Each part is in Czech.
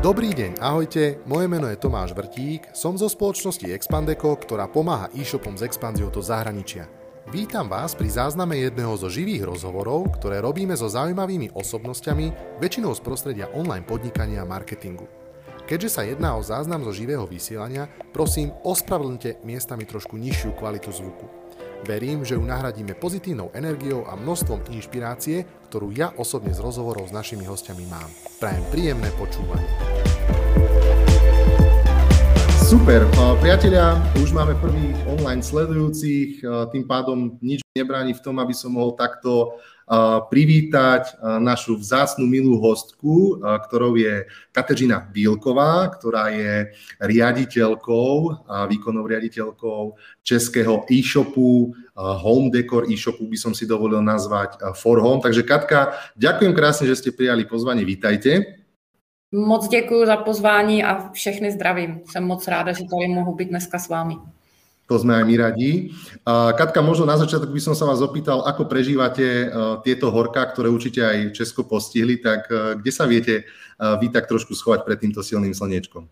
Dobrý deň, ahojte, moje meno je Tomáš Vrtík, som zo spoločnosti Expandeco, ktorá pomáha e-shopom s expanziou do zahraničia. Vítam vás pri zázname jedného zo živých rozhovorov, ktoré robíme so zaujímavými osobnosťami, väčšinou z prostredia online podnikania a marketingu. Keďže sa jedná o záznam zo živého vysielania, prosím, ospravedlňte miestami trošku nižšiu kvalitu zvuku. Verím, že ju nahradíme pozitívnou energiou a množstvom inšpirácie, ktorú ja osobne z rozhovorov s našimi hostiami mám. Prajem príjemné počúvanie. Super, priatelia, už máme prvých online sledujúcich, tým pádom nič nebráni v tom, aby som mohol takto privítať našu vzácnu milú hostku, ktorou je Kateřina Bílková, ktorá je výkonnou riaditeľkou českého e-shopu, home decor e-shopu by som si dovolil nazvať For Home. Takže Katka, ďakujem krásne, že ste prijali pozvanie, vítajte. Moc děkuji za pozvání a všechny zdravím. Jsem moc ráda, že tady mohu být dneska s vámi. To sme aj my radi. Katka, možno na začiatok by som sa vás opýtal, ako prežívate tieto horká, ktoré určite aj Česko postihli, tak kde sa viete vy tak trošku schovať pred týmto silným slniečkom?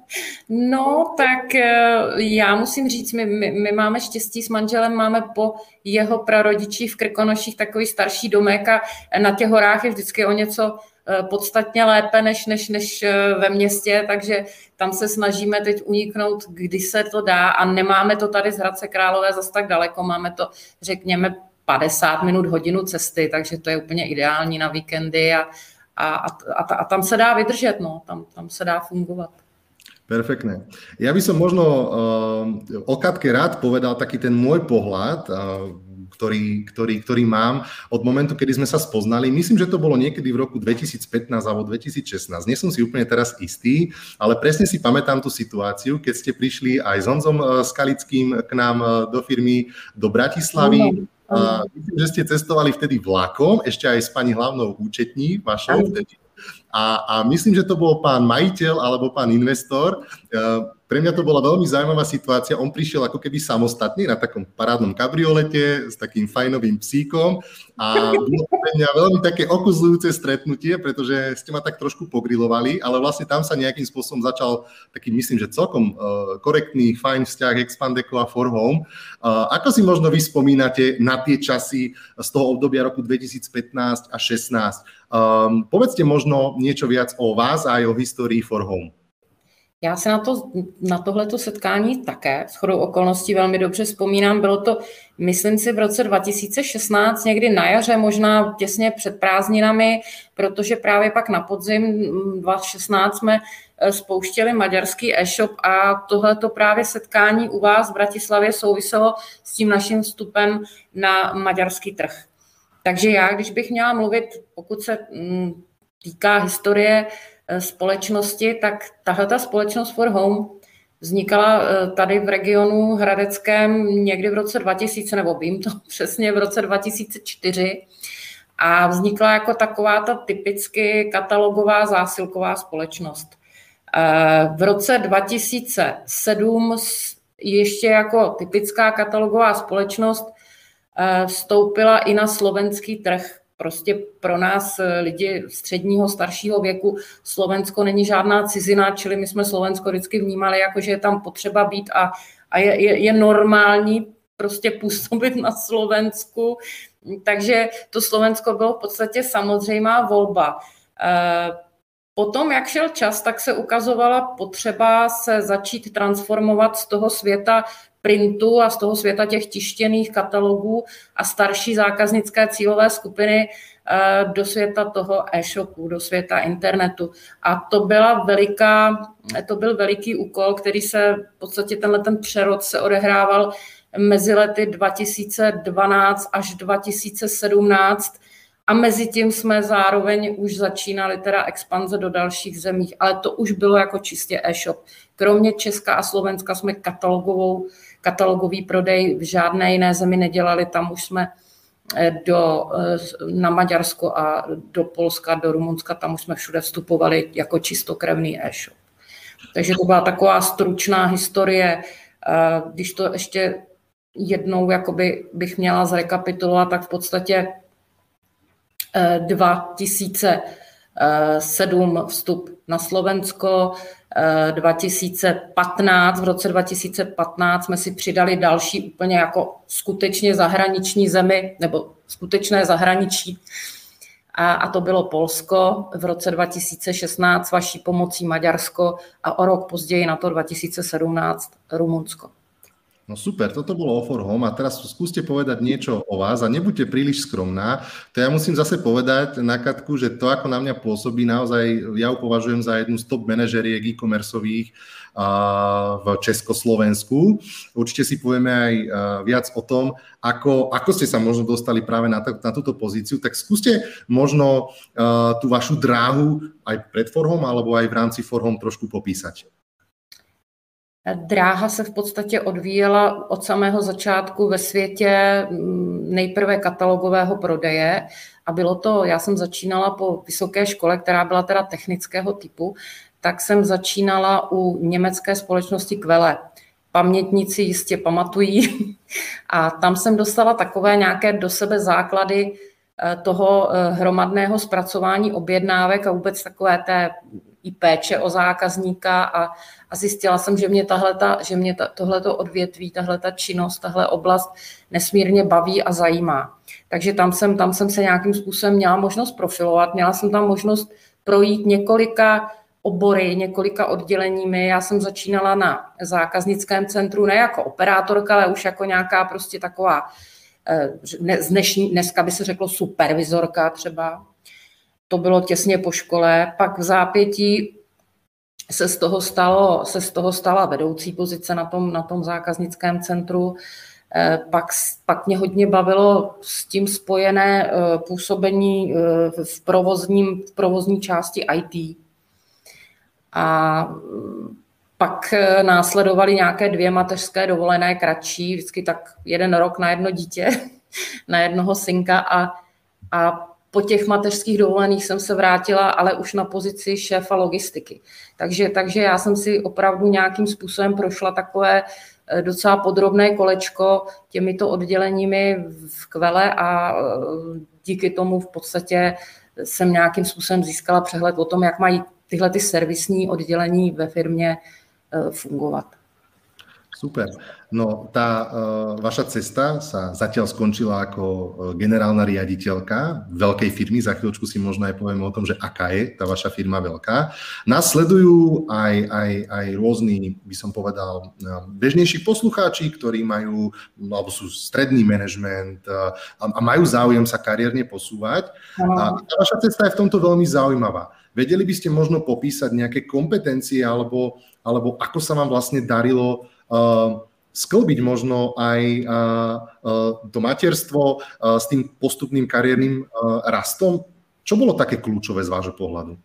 No, tak já musím říct, my máme štěstí s manželem, máme po jeho prarodičích v Krkonoších takový starší domek a na těch horách je vždycky o něco podstatně lépe než ve městě, takže tam se snažíme teď uniknout, kdy se to dá a nemáme to tady z Hradce Králové zas tak daleko, máme to, řekněme, 50 minut, hodinu cesty, takže to je úplně ideální na víkendy a tam se dá vydržet, no, tam se dá fungovat. Perfektné. Ja by som možno o Katke rád povedal taký ten môj pohľad, ktorý mám od momentu, kedy sme sa spoznali. Myslím, že to bolo niekedy v roku 2015 alebo 2016. Nie som si úplne teraz istý, ale presne si pamätám tú situáciu, keď ste prišli aj s Honzom Skalickým k nám do firmy do Bratislavy. Myslím, že ste cestovali vtedy vlakom, ešte aj s pani hlavnou účetní vašou vtedy. A myslím, že to bol pán majiteľ alebo pán investor. Pre mňa to bola veľmi zaujímavá situácia. On prišiel ako keby samostatne na takom parádnom kabriolete s takým fajnovým psíkom a bolo pre mňa veľmi také okuzľujúce stretnutie, pretože ste ma tak trošku pogrilovali, ale vlastne tam sa nejakým spôsobom začal taký, myslím, že celkom korektný, fajn vzťah Expandeco a For Home. Ako si možno vy spomínate na tie časy z toho obdobia roku 2015 a 2016? Povedzte možno niečo viac o vás a aj o histórii For Home. Já se na tohleto setkání také shodou okolností velmi dobře vzpomínám. Bylo to, myslím si, v roce 2016, někdy na jaře, možná těsně před prázdninami, protože právě pak na podzim 2016 jsme spouštěli maďarský e-shop a tohleto právě setkání u vás v Bratislavě souviselo s tím naším vstupem na maďarský trh. Takže já, když bych měla mluvit, pokud se týká historie společnosti, tak tahleta společnost For Home vznikala tady v regionu hradeckém někdy v roce 2000, nebo vím to přesně, v roce 2004 a vznikla jako taková ta typicky katalogová zásilková společnost. V roce 2007 ještě jako typická katalogová společnost vstoupila i na slovenský trh. Prostě pro nás lidi středního, staršího věku Slovensko není žádná cizina, čili my jsme Slovensko vždycky vnímali jako, že je tam potřeba být a je normální prostě působit na Slovensku. Takže to Slovensko bylo v podstatě samozřejmá volba. Potom, jak šel čas, tak se ukazovala potřeba se začít transformovat z toho světa printu a z toho světa těch tištěných katalogů a starší zákaznické cílové skupiny do světa toho e-shopu, do světa internetu. A to byl veliký úkol, který se v podstatě ten přerod se odehrával mezi lety 2012 až 2017 a mezi tím jsme zároveň už začínali teda expanze do dalších zemí, ale to už bylo jako čistě e-shop. Kromě Česka a Slovenska jsme katalogový prodej v žádné jiné zemi nedělali, tam už jsme na Maďarsko a do Polska, do Rumunska, tam už jsme všude vstupovali jako čistokrevný e-shop. Takže to byla taková stručná historie. Když to ještě jednou jakoby bych měla zrekapitulovat, tak v podstatě 2000 2007 vstup na Slovensko, 2015, v roce 2015 jsme si přidali další úplně jako skutečně zahraniční zemi, nebo skutečné zahraničí, a to bylo Polsko, v roce 2016 vaší pomocí Maďarsko a o rok později na to 2017 Rumunsko. No super, toto bolo O for Home a teraz skúste povedať niečo o vás a nebuďte príliš skromná. To ja musím zase povedať na Katku, že to, ako na mňa pôsobí, naozaj ja ju považujem za jednu z top manažeriek e-commerceových v Československu. Určite si povieme aj viac o tom, ako ste sa možno dostali práve na túto pozíciu. Tak skúste možno tú vašu dráhu aj pred For Home alebo aj v rámci For Home trošku popísať. Dráha se v podstatě odvíjela od samého začátku ve světě nejprve katalogového prodeje a bylo to, já jsem začínala po vysoké škole, která byla teda technického typu, tak jsem začínala u německé společnosti Quelle. Pamětníci jistě pamatují a tam jsem dostala takové nějaké do sebe základy toho hromadného zpracování objednávek a vůbec takové té i péče o zákazníka a zjistila jsem, že mě tohleto odvětví, tahleta činnost, tahle oblast nesmírně baví a zajímá. Takže tam jsem se nějakým způsobem měla možnost profilovat, měla jsem tam možnost projít několika obory, několika odděleními. Já jsem začínala na zákaznickém centru ne jako operátorka, ale už jako nějaká prostě taková, dneska by se řeklo supervizorka třeba. To bylo těsně po škole, pak v zápětí se z toho stala vedoucí pozice na tom zákaznickém centru. Pak mě hodně bavilo s tím spojené působení v provozní části IT. A pak následovaly nějaké 2 mateřské dovolené kratší, vždycky tak 1 rok na jedno dítě, na jednoho synka a po těch mateřských dovolených jsem se vrátila, ale už na pozici šéfa logistiky. Takže já jsem si opravdu nějakým způsobem prošla takové docela podrobné kolečko těmito odděleními v Quelle a díky tomu v podstatě jsem nějakým způsobem získala přehled o tom, jak mají tyhle ty servisní oddělení ve firmě fungovat. Super. No tá vaša cesta sa zatiaľ skončila ako generálna riaditeľka veľkej firmy. Za chvíľočku si možno aj povieme o tom, že aká je tá vaša firma veľká. Nasledujú aj rôzni, by som povedal, bežnejší poslucháči, ktorí majú, alebo sú stredný manažment a majú záujem sa kariérne posúvať. A tá vaša cesta je v tomto veľmi zaujímavá. Vedeli by ste možno popísať nejaké kompetencie alebo ako sa vám vlastne darilo sklbiť možno aj to materstvo s tým postupným kariérnym rastom? Čo bolo také kľúčové z vášho pohľadu?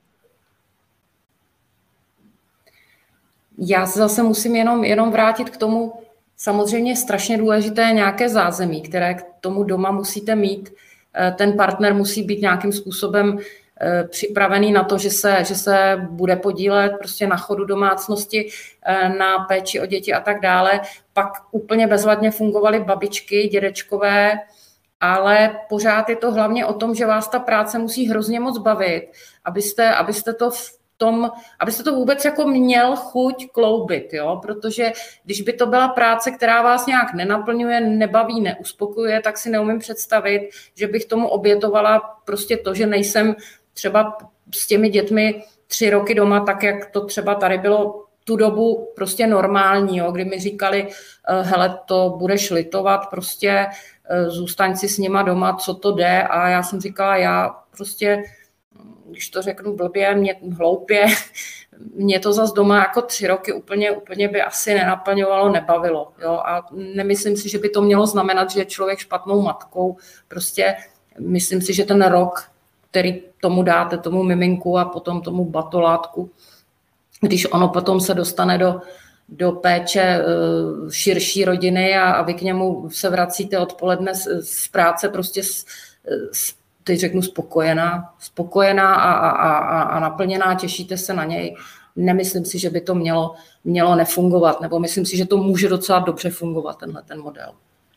Já se zase musím jenom vrátit k tomu, samozřejmě strašně důležité nějaké zázemí, které k tomu doma musíte mít. Ten partner musí být nějakým způsobem připravený na to, že se bude podílet prostě na chodu domácnosti, na péči o děti a tak dále. Pak úplně bezvadně fungovaly babičky, dědečkové, ale pořád je to hlavně o tom, že vás ta práce musí hrozně moc bavit, abyste to vůbec jako měl chuť kloubit, jo? Protože když by to byla práce, která vás nějak nenaplňuje, nebaví, neuspokojuje, tak si neumím představit, že bych tomu obětovala prostě to, že nejsem třeba s těmi dětmi 3 roky doma, tak jak to třeba tady bylo tu dobu prostě normální, jo? Kdy mi říkali, hele, to budeš litovat, prostě zůstaň si s nima doma, co to jde, a já jsem říkala, já prostě, když to řeknu blbě, hloupě, mě to zas doma jako 3 roky úplně by asi nenaplňovalo, nebavilo. Jo? A nemyslím si, že by to mělo znamenat, že je člověk špatnou matkou. Prostě myslím si, že ten rok, který tomu dáte, tomu miminku a potom tomu batolátku, když ono potom se dostane do péče širší rodiny a vy k němu se vracíte odpoledne z práce prostě teď řeknu spokojená a naplněná, těšíte se na něj. Nemyslím si, že by to mělo nefungovat, nebo myslím si, že to může docela dobře fungovat, ten model.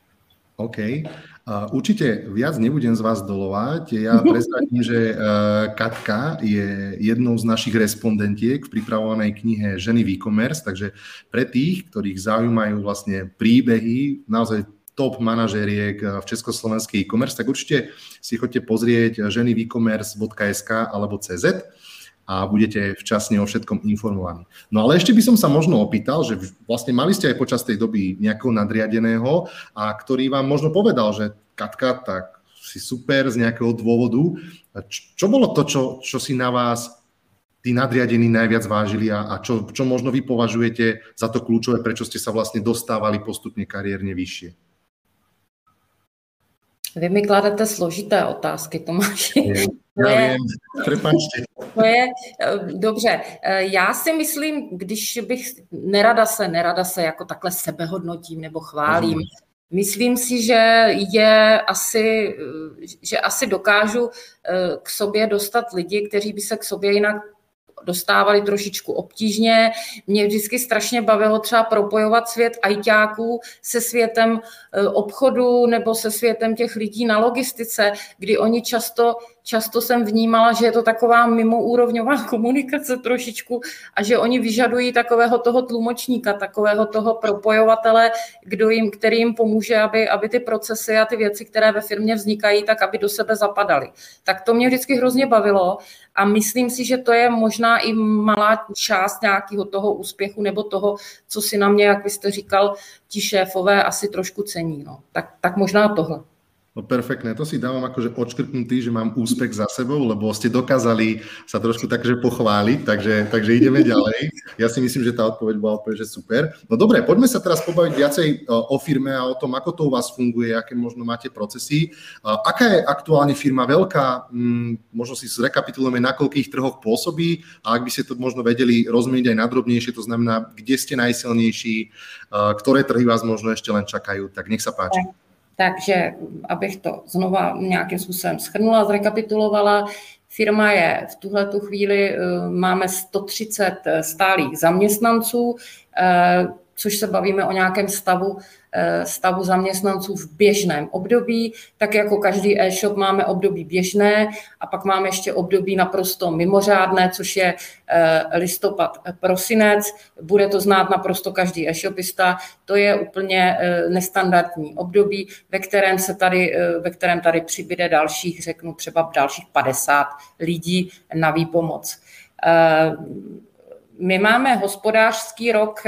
OK. Určite viac nebudem z vás dolovať. Ja prezradím, že Katka je jednou z našich respondentiek v pripravovanej knihe Ženy v e-commerce, takže pre tých, ktorých zaujímajú vlastne príbehy, naozaj top manažériek v československej e-commerce, tak určite si choďte pozrieť ženyvecommerce.sk alebo CZ a budete včasne o všetkom informovaní. No ale ešte by som sa možno opýtal, že vlastne mali ste aj počas tej doby nejakého nadriadeného, a ktorý vám možno povedal, že Katka, tak si super z nejakého dôvodu. Čo bolo to, čo si na vás tí nadriadení najviac vážili a čo možno vy považujete za to kľúčové, prečo ste sa vlastne dostávali postupne kariérne vyššie? Vy mi kladete složité otázky, Tomáši. Prepáčte. To je dobře. Já si myslím, když bych nerada se jako takhle sebehodnotím nebo chválím, myslím si, že asi dokážu k sobě dostat lidi, kteří by se k sobě jinak dostávali trošičku obtížně. Mě vždycky strašně bavilo třeba propojovat svět ajťáků se světem obchodu nebo se světem těch lidí na logistice, kdy oni často jsem vnímala, že je to taková mimoúrovňová komunikace trošičku a že oni vyžadují takového toho tlumočníka, takového toho propojovatele, který jim pomůže, aby ty procesy a ty věci, které ve firmě vznikají, tak aby do sebe zapadaly. Tak to mě vždycky hrozně bavilo a myslím si, že to je možná i malá část nějakého toho úspěchu nebo toho, co si na mě, jak vy jste říkal, ti šéfové asi trošku cení. No. Tak možná tohle. No perfektné, to si dávam akože odškrtnutý, že mám úspech za sebou, lebo ste dokázali sa trošku takže pochváliť, takže ideme ďalej. Ja si myslím, že tá odpoveď bola úplne, že super. No dobre, poďme sa teraz pobaviť viacej o firme a o tom, ako to u vás funguje, aké možno máte procesy. Aká je aktuálne firma veľká? Možno si zrekapitulujeme, na koľkých trhoch pôsobí a ak by ste to možno vedeli rozmeniť aj nadrobnejšie, to znamená, kde ste najsilnejší, ktoré trhy vás možno ešte len čakajú, tak nech sa páči. Takže abych to znova nějakým způsobem shrnula, zrekapitulovala, firma je v tuhletu chvíli, máme 130 stálých zaměstnanců, což se bavíme o nějakém stavu zaměstnanců v běžném období. Tak jako každý e-shop máme období běžné a pak máme ještě období naprosto mimořádné, což je listopad, prosinec. Bude to znát naprosto každý e-shopista. To je úplně nestandardní období, ve kterém tady přibyde dalších, řeknu třeba dalších 50 lidí na výpomoc. My máme hospodářský rok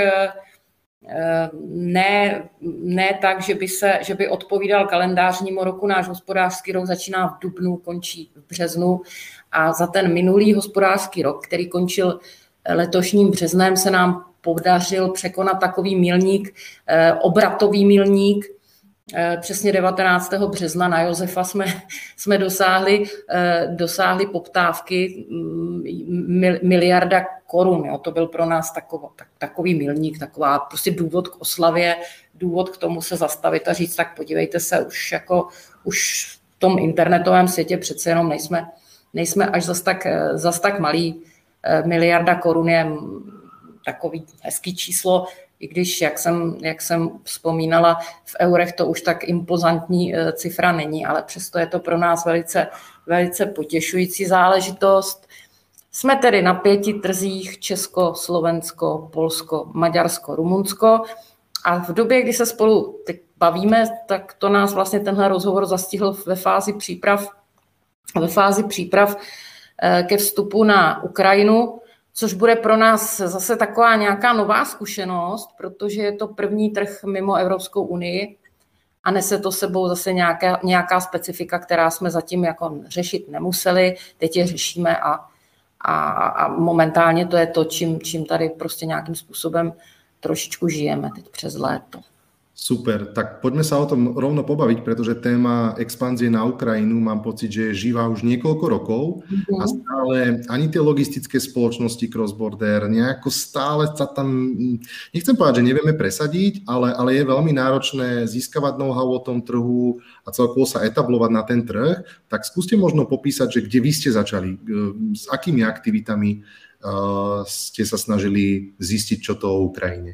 ne tak, že by odpovídal kalendářnímu roku. Náš hospodářský rok začíná v dubnu, končí v březnu a za ten minulý hospodářský rok, který končil letošním březnem, se nám podařil překonat takový milník, obratový milník. Přesně 19. března na Josefa jsme dosáhli poptávky miliarda korun. Jo. To byl pro nás takový milník, taková prostě důvod k oslavě, důvod k tomu se zastavit a říct, tak podívejte se, už v tom internetovém světě přece jenom nejsme až zas tak malý. Miliarda korun je takový hezký číslo, i když, jak jsem vzpomínala, v eurech to už tak impozantní cifra není, ale přesto je to pro nás velice, velice potěšující záležitost. Jsme tedy na 5 trzích: Česko, Slovensko, Polsko, Maďarsko, Rumunsko. A v době, kdy se spolu teď bavíme, tak to nás vlastně tenhle rozhovor zastihl ve fázi příprav ke vstupu na Ukrajinu, což bude pro nás zase taková nějaká nová zkušenost, protože je to první trh mimo Evropskou unii a nese to sebou zase nějaká specifika, která jsme zatím jako řešit nemuseli, teď je řešíme a momentálně to je to, čím tady prostě nějakým způsobem trošičku žijeme teď přes léto. Super, tak poďme sa o tom rovno pobaviť, pretože téma expanzie na Ukrajinu mám pocit, že je živá už niekoľko rokov a stále ani tie logistické spoločnosti cross-border nejako stále sa tam, nechcem povedať, že nevieme presadiť, ale je veľmi náročné získavať know-how o tom trhu a celkovo sa etablovať na ten trh. Tak skúste možno popísať, že kde vy ste začali, s akými aktivitami ste sa snažili zistiť, čo to o Ukrajine.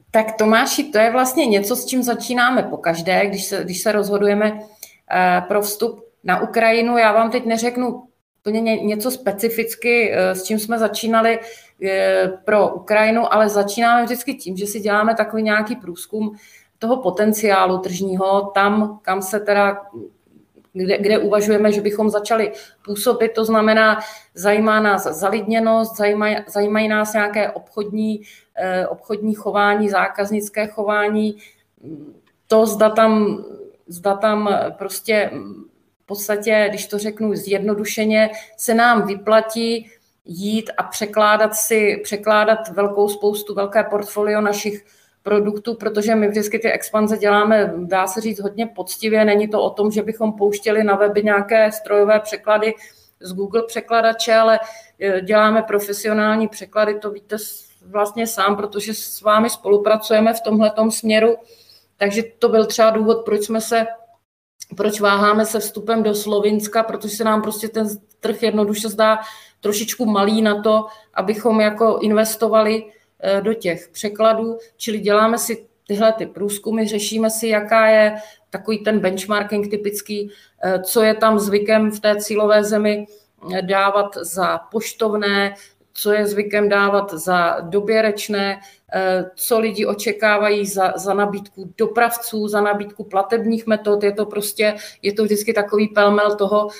Tak Tomáši, to je vlastně něco, s čím začínáme pokaždé, když se rozhodujeme pro vstup na Ukrajinu. Já vám teď neřeknu úplně něco specificky, s čím jsme začínali pro Ukrajinu, ale začínáme vždycky tím, že si děláme takový nějaký průzkum toho potenciálu tržního, tam, kam se teda, kde uvažujeme, že bychom začali působit, to znamená, zajímá nás zalidněnost, zajímají nás nějaké obchodní chování, zákaznické chování, to zda tam prostě v podstatě, když to řeknu zjednodušeně, se nám vyplatí jít a překládat velké portfolio našich produktů, protože my vždycky ty expanze děláme, dá se říct, hodně poctivě. Není to o tom, že bychom pouštěli na weby nějaké strojové překlady z Google překladače, ale děláme profesionální překlady, to víte vlastně sám, protože s vámi spolupracujeme v tomhletom směru. Takže to byl třeba důvod, proč váháme se vstupem do Slovinska, protože se nám prostě ten trh jednoduše zdá trošičku malý na to, abychom jako investovali do těch překladů, čili děláme si tyhle ty průzkumy, řešíme si, jaká je takový ten benchmarking typický, co je tam zvykem v té cílové zemi dávat za poštovné, co je zvykem dávat za doběrečné, co lidi očekávají za nabídku dopravců, za nabídku platebních metod. Je to vždycky takový pelmel toho,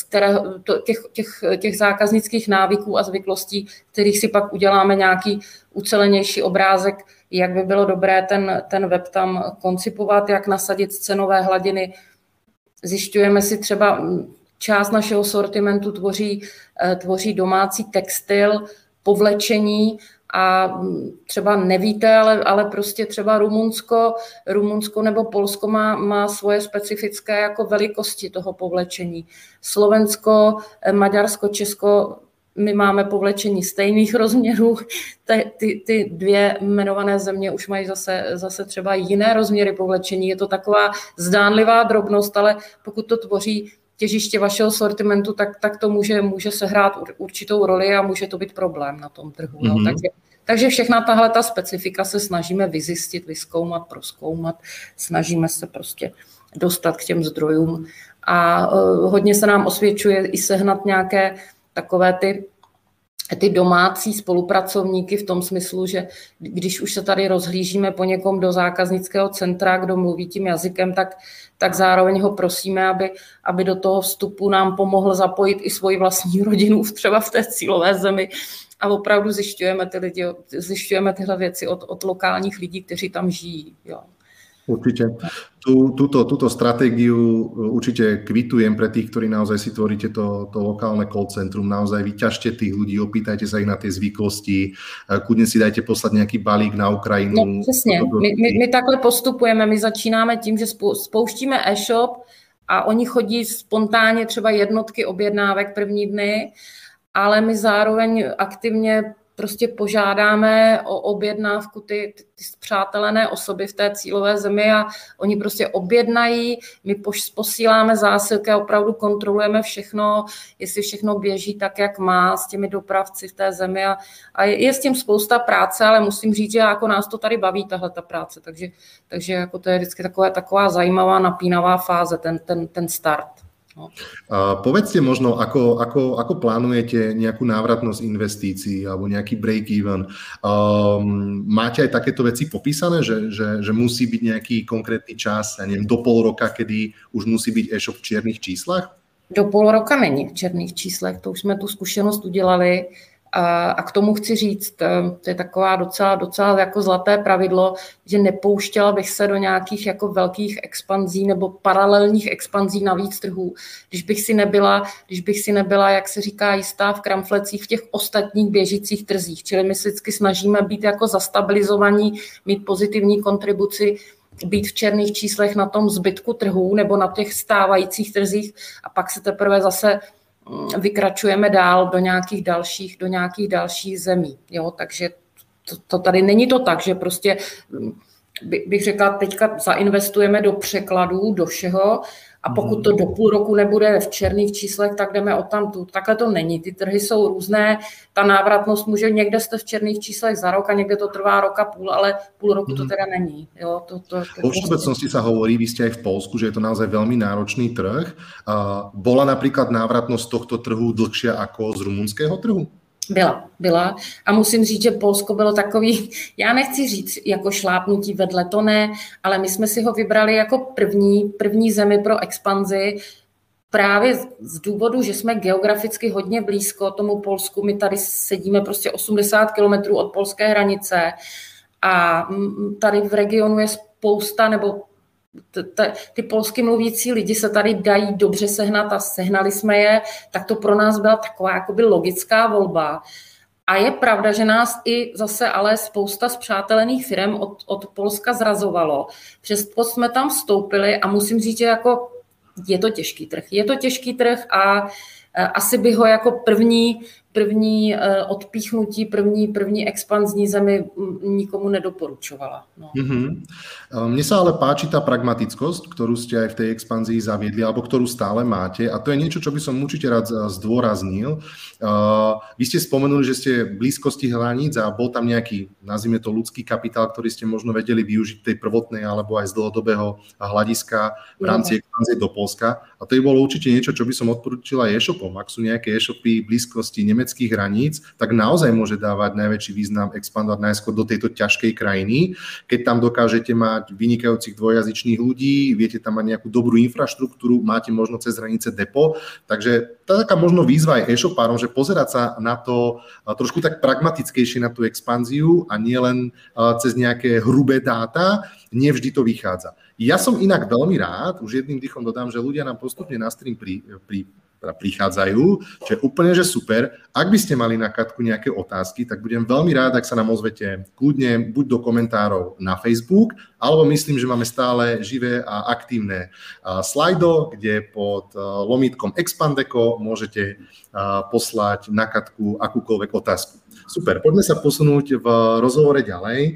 těch zákaznických návyků a zvyklostí, kterých si pak uděláme nějaký ucelenější obrázek, jak by bylo dobré ten web tam koncipovat, jak nasadit cenové hladiny. Zjišťujeme si třeba, část našeho sortimentu tvoří domácí textil, povlečení a třeba nevíte, ale prostě třeba Rumunsko nebo Polsko má svoje specifické jako velikosti toho povlečení. Slovensko, Maďarsko, Česko, my máme povlečení stejných rozměrů, ty dvě jmenované země už mají zase třeba jiné rozměry povlečení. Je to taková zdánlivá drobnost, ale pokud to tvoří těžiště vašeho sortimentu, tak to může sehrát určitou roli a může to být problém na tom trhu. No. Takže všechna tahle ta specifika se snažíme vyzjistit, vyzkoumat, prozkoumat, snažíme se prostě dostat k těm zdrojům a hodně se nám osvědčuje i sehnat nějaké takové ty domácí spolupracovníky v tom smyslu, že když už se tady rozhlížíme po někom do zákaznického centra, kdo mluví tím jazykem, tak zároveň ho prosíme, aby do toho vstupu nám pomohl zapojit i svoji vlastní rodinu třeba v té cílové zemi a opravdu zjišťujeme tyhle věci od lokálních lidí, kteří tam žijí. Jo. Určite. Túto stratégiu určite kvitujem pre tých, ktorí naozaj si tvoríte to lokálne call centrum. Naozaj vyťažte tých ľudí, opýtajte sa ich na tie zvyklosti, kudne si dajte poslať nejaký balík na Ukrajinu. No, přesně. My takhle postupujeme. My začínáme tím, že spouštíme e-shop a oni chodí spontánně třeba jednotky objednávek první dny, ale my zároveň aktivně prostě požádáme o objednávku ty spřátelené osoby v té cílové zemi a oni prostě objednají, my posíláme zásilky a opravdu kontrolujeme všechno, jestli všechno běží tak, jak má s těmi dopravci v té zemi a je s tím spousta práce, ale musím říct, že jako nás to tady baví, tahle ta práce, takže jako to je vždycky taková zajímavá, napínavá fáze, ten start. No. Povedzte možno, ako plánujete nejakú návratnosť investícií alebo nejaký break-even. Máte aj takéto veci popísané, že musí byť nejaký konkrétny čas, ja neviem, do pol roka, kedy už musí byť e-shop v čiernych číslach? Do půl roka není v černých číslech, to už jsme tu zkušenost udělali. A k tomu chci říct, to je taková docela jako zlaté pravidlo, že nepouštěla bych se do nějakých jako velkých expanzí nebo paralelních expanzí na víc trhů, když bych si nebyla, jak se říká, jistá v kramflecích v těch ostatních běžících trzích. Čili my se vždycky snažíme být jako zastabilizovaní, mít pozitivní kontribuci, být v černých číslech na tom zbytku trhů nebo na těch stávajících trzích a pak se teprve zase vykračujeme dál do nějakých dalších zemí. Jo? Takže to tady není to tak, že prostě bych řekla, teďka zainvestujeme do překladů, do všeho A pokud to do půl roku nebude v černých číslech, tak jdeme odtamtud. Takhle to není. Ty trhy jsou různé. Ta návratnost může, někde jste v černých číslech za rok a někde to trvá rok a půl, ale půl roku to teda není. Jo, vo všeobecnosti sa hovorí, vy ste aj v Polsku, že je to naozaj veľmi náročný trh. Bola napríklad návratnosť tohto trhu dlhšia ako z rumunského trhu? Byla. A musím říct, že Polsko bylo takový, já nechci říct jako šlápnutí vedle, to ne, ale my jsme si ho vybrali jako první zemi pro expanzi právě z důvodu, že jsme geograficky hodně blízko tomu Polsku. My tady sedíme prostě 80 kilometrů od polské hranice a tady v regionu je spousta, nebo ty polsky mluvící lidi se tady dají dobře sehnat a sehnali jsme je, tak to pro nás byla taková jakoby logická volba. A je pravda, že nás i zase ale spousta spřátelených firm od Polska zrazovalo. Přesto jsme tam vstoupili a musím říct, že jako je to těžký trh a asi bych ho jako první odpíchnutí, první expanzní zemi nikomu nedoporučovala. No. Mne sa ale páči tá pragmatickosť, ktorú ste aj v tej expanzii zaviedli, alebo ktorú stále máte, a to je niečo, čo by som určite rád zdôraznil. Vy ste spomenuli, že ste v blízkosti hraníc a bol tam nejaký, nazvime to, ľudský kapitál, ktorý ste možno vedeli využiť tej prvotnej alebo aj z dlhodobého hľadiska v rámci expanzie do Polska. A to by bolo určite niečo, čo by som odporúčila e-shopom. Ak sú nejaké e-shopy v blízkosti nemeckých hraníc, tak naozaj môže dávať najväčší význam expandovať najskôr do tejto ťažkej krajiny. Keď tam dokážete mať vynikajúcich dvojazyčných ľudí, viete tam mať nejakú dobrú infraštruktúru, máte možno cez hranice depo. Takže tá taká možno výzva aj e-shopárom, že pozerať sa na to trošku tak pragmatickejšie na tú expanziu a nie len cez nejaké hrubé dáta, nevždy to vychádza. Ja som inak veľmi rád, už jedným dýchom dodám, že ľudia nám postupne na stream prichádzajú, čo je úplne že super. Ak by ste mali na Katku nejaké otázky, tak budem veľmi rád, ak sa nám ozvete kľudne buď do komentárov na Facebook, alebo myslím, že máme stále živé a aktívne slajdo, kde pod lomítkom Expandeco môžete poslať na Katku akúkoľvek otázku. Super, poďme sa posunúť v rozhovore ďalej.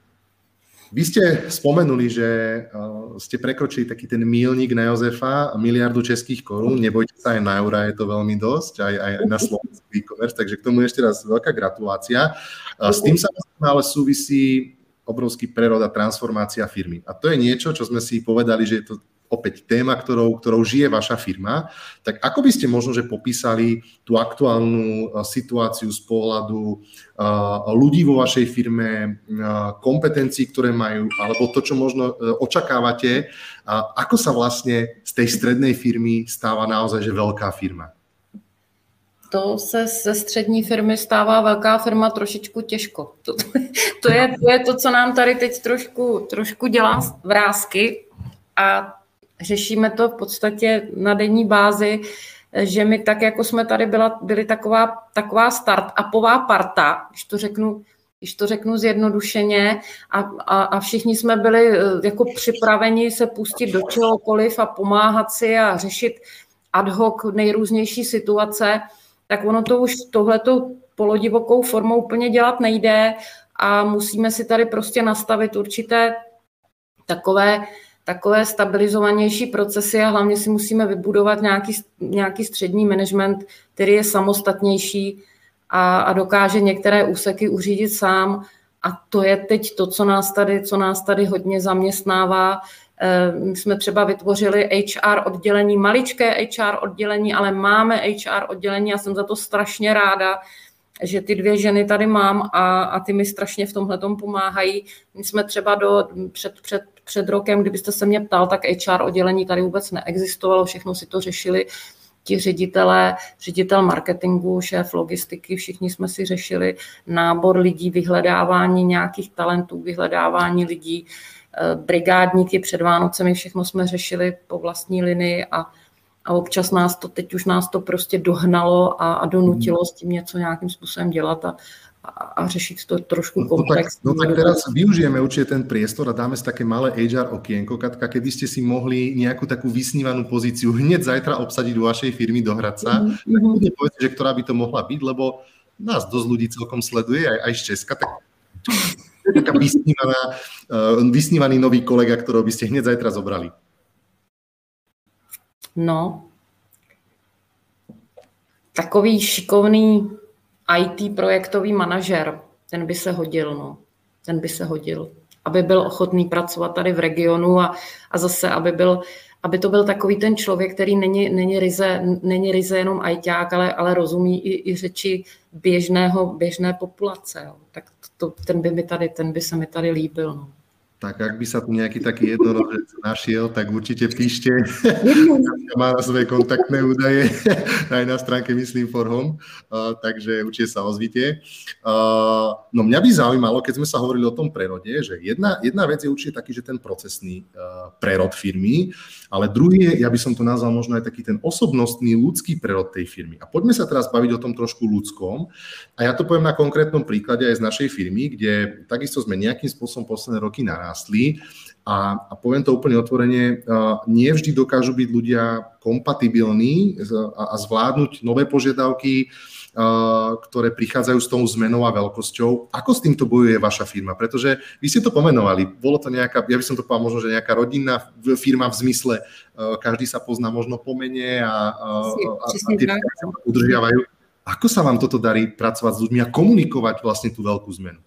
Vy ste spomenuli, že ste prekročili taký ten míľnik na Jozefa, 1 miliardu českých korún. Nebojte sa, aj na eura je to veľmi dosť, aj na slovenský e-commerce, takže k tomu ešte raz veľká gratulácia. S tým sa ale súvisí obrovský prerod a transformácia firmy. A to je niečo, čo sme si povedali, že je to opäť téma, ktorou žije vaša firma. Tak ako by ste možno, že popísali tú aktuálnu situáciu z pohľadu ľudí vo vašej firme, kompetencií, ktoré majú, alebo to, čo možno očakávate, ako sa vlastne z tej strednej firmy stáva naozaj, že veľká firma? To se ze střední firmy stává velká firma trošičku těžko. To je to, co nám tady teď trošku dělá vrásky a řešíme to v podstatě na denní bázi, že my tak, jako jsme tady byli taková start-upová parta, když to řeknu zjednodušeně, a všichni jsme byli jako připraveni se pustit do čehokoliv a pomáhat si a řešit ad hoc nejrůznější situace, tak ono to už tohletou polodivokou formou úplně dělat nejde a musíme si tady prostě nastavit určité takové stabilizovanější procesy a hlavně si musíme vybudovat nějaký střední management, který je samostatnější a dokáže některé úseky uřídit sám. A to je teď to, co nás tady hodně zaměstnává. My jsme třeba vytvořili HR oddělení, maličké HR oddělení, ale máme HR oddělení a jsem za to strašně ráda, že ty 2 ženy tady mám a ty mi strašně v tomhletom pomáhají. My jsme třeba před rokem, kdybyste se mě ptal, tak HR oddělení tady vůbec neexistovalo, všechno si to řešili ti ředitel marketingu, šéf logistiky, všichni jsme si řešili nábor lidí, vyhledávání nějakých talentů, vyhledávání lidí, brigádníky před Vánocemi, všechno jsme řešili po vlastní linii a občas teď už nás to prostě dohnalo a donutilo s tím něco nějakým způsobem dělat a řešiť to trošku komplexne. No tak teraz využijeme určite ten priestor a dáme si také malé HR okienko. Katka, keby ste si mohli nejakú takú vysnívanú pozíciu hneď zajtra obsadiť do vašej firmy do Hradca, tak budne povedať, že ktorá by to mohla byť, lebo nás dosť ľudí celkom sleduje, aj z Česka, tak to je taká vysnívaný nový kolega, ktorého by ste hneď zajtra zobrali. V No, takový šikovný IT projektový manažer, ten by se hodil, no. Ten by se hodil, aby byl ochotný pracovat tady v regionu a zase, aby to byl takový ten člověk, který není ryze jenom ajťák, ale rozumí i řeči běžné populace. Jo. Tak ten by se mi tady líbil. No. Tak ak by sa tu nejaký taký jednorožec našiel, tak určite píšte. Má na svoje kontaktné údaje aj na stránke Myslím for Home, takže určite sa ozvite. No mňa by zaujímalo, keď sme sa hovorili o tom prerode, že jedna vec je určite taký, že ten procesný prerod firmy, ale druhý je, ja by som to nazval možno aj taký ten osobnostný ľudský prerod tej firmy. A poďme sa teraz baviť o tom trošku ľudskom. A ja to poviem na konkrétnom príklade aj z našej firmy, kde takisto sme nejakým spôsobom posledné roky narástli a poviem to úplne otvorene, nie vždy dokážu byť ľudia kompatibilní a zvládnuť nové požiadavky, ktoré prichádzajú s tou zmenou a veľkosťou. Ako s týmto bojuje vaša firma? Pretože vy ste to pomenovali, bolo to nejaká, ja by som to povedal možno, že nejaká rodinná firma v zmysle, každý sa pozná možno po mene a tie sa udržiavajú. Ako sa vám toto darí pracovať s ľuďmi a komunikovať vlastne tú veľkú zmenu?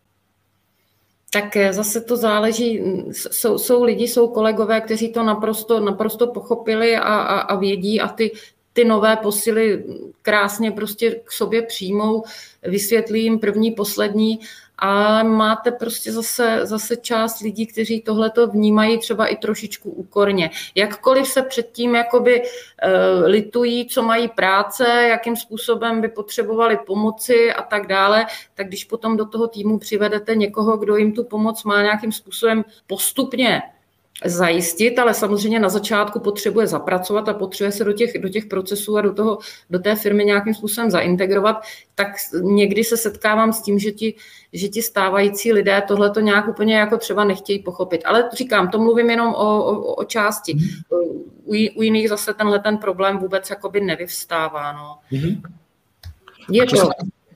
Tak zase to záleží, jsou lidi, jsou kolegové, kteří to naprosto pochopili a vědí a ty nové posily krásně prostě k sobě přijmou, vysvětlí jim první, poslední a máte prostě zase část lidí, kteří tohleto vnímají třeba i trošičku úkorně. Jakkoliv se předtím jakoby litují, co mají práce, jakým způsobem by potřebovali pomoci a tak dále, tak když potom do toho týmu přivedete někoho, kdo jim tu pomoc má nějakým způsobem postupně zajistit, ale samozřejmě na začátku potřebuje zapracovat a potřebuje se do těch procesů a do té firmy nějakým způsobem zaintegrovat, tak někdy se setkávám s tím, že ti stávající lidé tohleto nějak úplně jako třeba nechtějí pochopit. Ale říkám, to mluvím jenom o části. U jiných zase ten problém vůbec jakoby nevyvstává. No. Je to...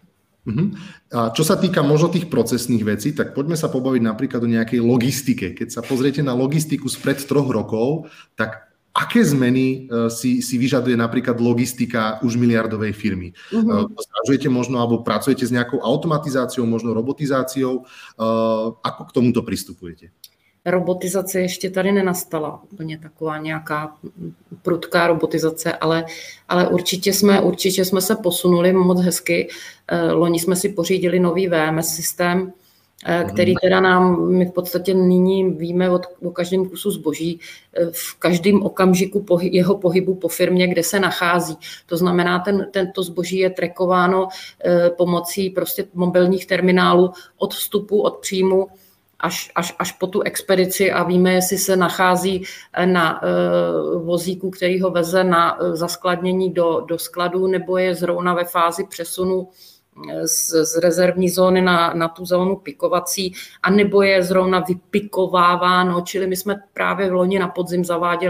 A čo sa týka možno tých procesných vecí, tak poďme sa pobaviť napríklad o nejakej logistike. Keď sa pozriete na logistiku spred 3 rokov, tak aké zmeny si vyžaduje napríklad logistika už miliardovej firmy? Zvažujete možno, alebo pracujete s nejakou automatizáciou, možno robotizáciou? Ako k tomuto pristupujete? Robotizace ještě tady nenastala, úplně taková nějaká prudká robotizace, ale určitě jsme se posunuli moc hezky. Loni jsme si pořídili nový VMS systém, který teda my v podstatě nyní víme o každém kusu zboží, v každém okamžiku jeho pohybu po firmě, kde se nachází. To znamená, tento zboží je trackováno pomocí prostě mobilních terminálů od vstupu, od příjmu, až po tu expedici a víme, jestli se nachází na vozíku, který ho veze na zaskladnění do skladu, nebo je zrovna ve fázi přesunu z rezervní zóny na tu zónu pikovací, a nebo je zrovna vypikováváno, čili my jsme právě v loni na podzim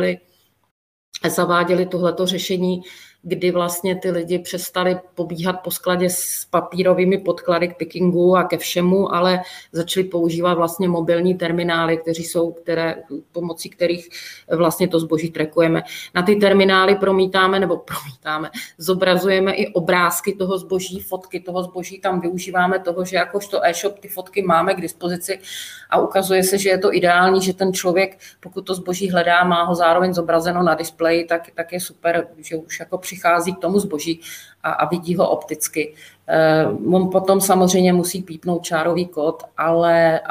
zaváděli tohleto řešení, kdy vlastně ty lidi přestali pobíhat po skladě s papírovými podklady k pickingu a ke všemu, ale začali používat vlastně mobilní terminály, pomocí kterých vlastně to zboží trackujeme. Na ty terminály zobrazujeme i obrázky toho zboží, fotky toho zboží, tam využíváme toho, že jakožto e-shop ty fotky máme k dispozici a ukazuje se, že je to ideální, že ten člověk, pokud to zboží hledá, má ho zároveň zobrazeno na displeji, tak je super, že už jako přichází k tomu zboží a vidí ho opticky. On potom samozřejmě musí pípnout čárový kód, ale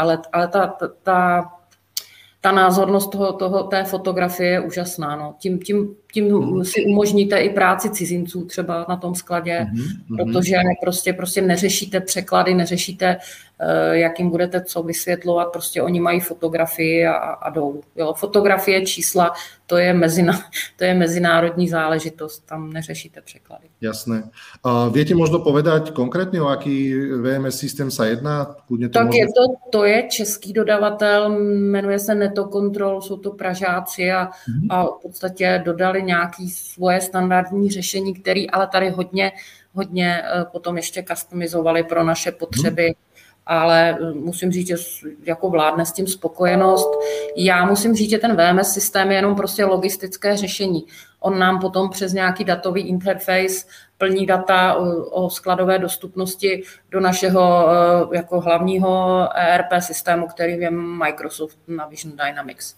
ta názornost té fotografie je úžasná. No. Tím si umožníte i práci cizinců třeba na tom skladě, protože prostě neřešíte překlady, neřešíte, jak jim budete co vysvětlovat, prostě oni mají fotografii a jdou. Jo, fotografie, čísla, to je mezinárodní záležitost, tam neřešíte překlady. Jasné. Viete možno povedať konkrétne, o aký VMS systém sa jedná? Tak to je český dodavatel, jmenuje se Netocontrol, jsou to Pražáci a v podstatě dodali nějaké svoje standardní řešení, které ale tady hodně potom ještě customizovali pro naše potřeby ale musím říct, že jako vládne s tím spokojenost. Já musím říct, že ten VMS systém je jenom prostě logistické řešení. On nám potom přes nějaký datový interface plní data o skladové dostupnosti do našeho jako hlavního ERP systému, který je Microsoft Navision Dynamics.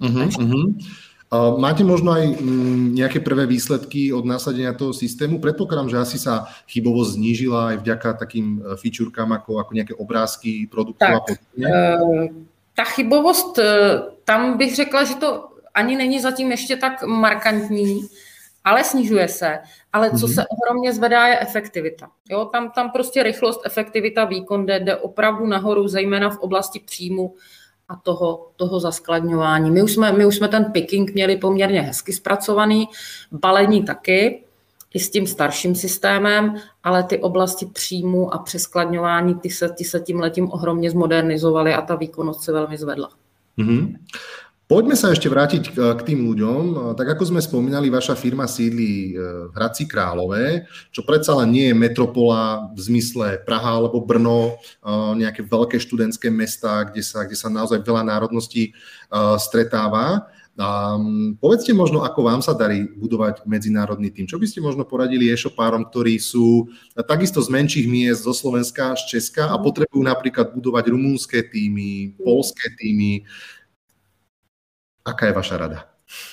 Máte možno aj nejaké prvé výsledky od nasadenia toho systému? Predpokladám, že asi sa chybovosť znížila aj vďaka takým featurekám ako nejaké obrázky produktov a podobně. Ta chybovost, tam bych řekla, že to ani není zatím ještě tak markantní, ale snižuje se. Ale co se ohromně zvedá, je efektivita. Jo, tam prostě rychlost, efektivita, výkon jde opravdu nahoru, zejména v oblasti příjmu a toho zaskladňování. My už jsme ten picking měli poměrně hezky zpracovaný, balení taky, i s tím starším systémem, ale ty oblasti příjmu a přeskladňování, ty se tímhletím ohromně zmodernizovaly a ta výkonnost se velmi zvedla. Poďme sa ešte vrátiť k tým ľuďom. Tak ako sme spomínali, vaša firma sídli v Hradci Králové, čo predsa len nie je metropola v zmysle Praha alebo Brno, nejaké veľké študentské mestá, kde sa naozaj veľa národností stretáva. Povedzte možno, ako vám sa darí budovať medzinárodný tým. Čo by ste možno poradili e-shopárom, ktorí sú takisto z menších miest, zo Slovenska, z Česka a potrebujú napríklad budovať rumunské týmy, poľské týmy. Aká je vaša rada?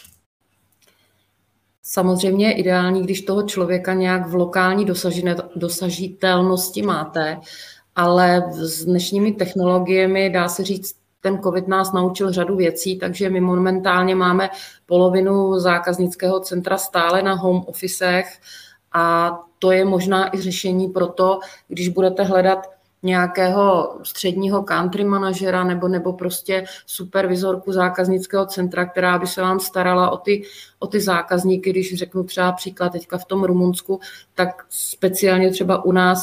Samozřejmě je ideální, když toho člověka nějak v lokální dosažitelnosti máte, ale s dnešními technologiemi, dá se říct, ten COVID nás naučil řadu věcí, takže my momentálně máme polovinu zákaznického centra stále na home officech a to je možná i řešení pro to, když budete hledat nějakého středního country manažera nebo prostě supervizorku zákaznického centra, která by se vám starala o ty zákazníky, když řeknu třeba příklad teďka v tom Rumunsku, tak speciálně třeba u nás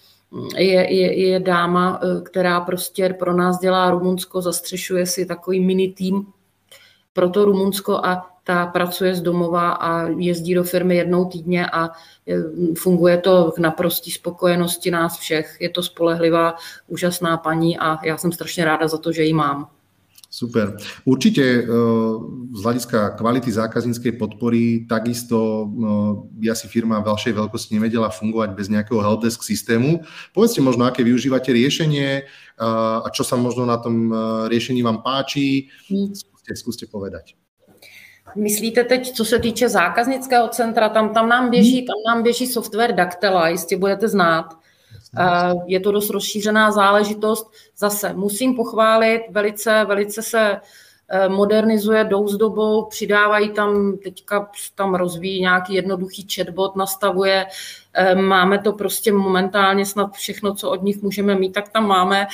je dáma, která prostě pro nás dělá Rumunsko, zastřešuje si takový mini tým pro to Rumunsko a ta pracuje z domova a jezdí do firmy jednou týdně a funguje to k naprosté spokojenosti nás všech. Je to spolehlivá, úžasná paní a já jsem strašně ráda za to, že ji mám. Super. Určite z hľadiska kvality zákazníckej podpory takisto by asi firma vašej veľkosti nevedela fungovať bez nejakého helpdesk systému. Povedzte možno, aké využívate riešenie a čo sa možno na tom riešení vám páči. Skúste povedať. Myslíte teď, co se týče zákaznického centra, tam nám běží software Daktela, jistě budete znát. Je to dost rozšířená záležitost. Zase musím pochválit, velice se modernizuje, jdou s dobou, přidávají teďka tam rozvíjí nějaký jednoduchý chatbot, nastavuje, máme to prostě momentálně snad všechno, co od nich můžeme mít, tak tam máme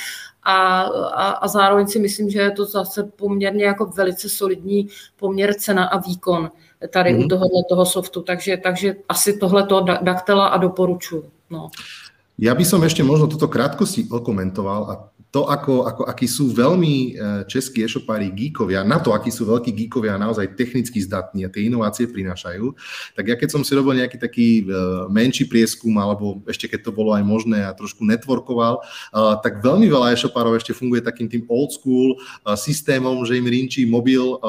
a zároveň si myslím, že je to zase poměrně jako velice solidní poměr cena a výkon tady u toho softu, takže asi tohleto Daktela a doporučuji. No. Ja by som ešte možno toto krátkosti okomentoval a to, akí sú veľmi českí e-shopári geekovia, na to, akí sú veľkí geekovia naozaj technicky zdatní a tie inovácie prinášajú, tak ja keď som si robil nejaký taký menší prieskum, alebo ešte keď to bolo aj možné a trošku networkoval, tak veľmi veľa e-shopárov ešte funguje takým tým old school systémom, že im rinčí mobil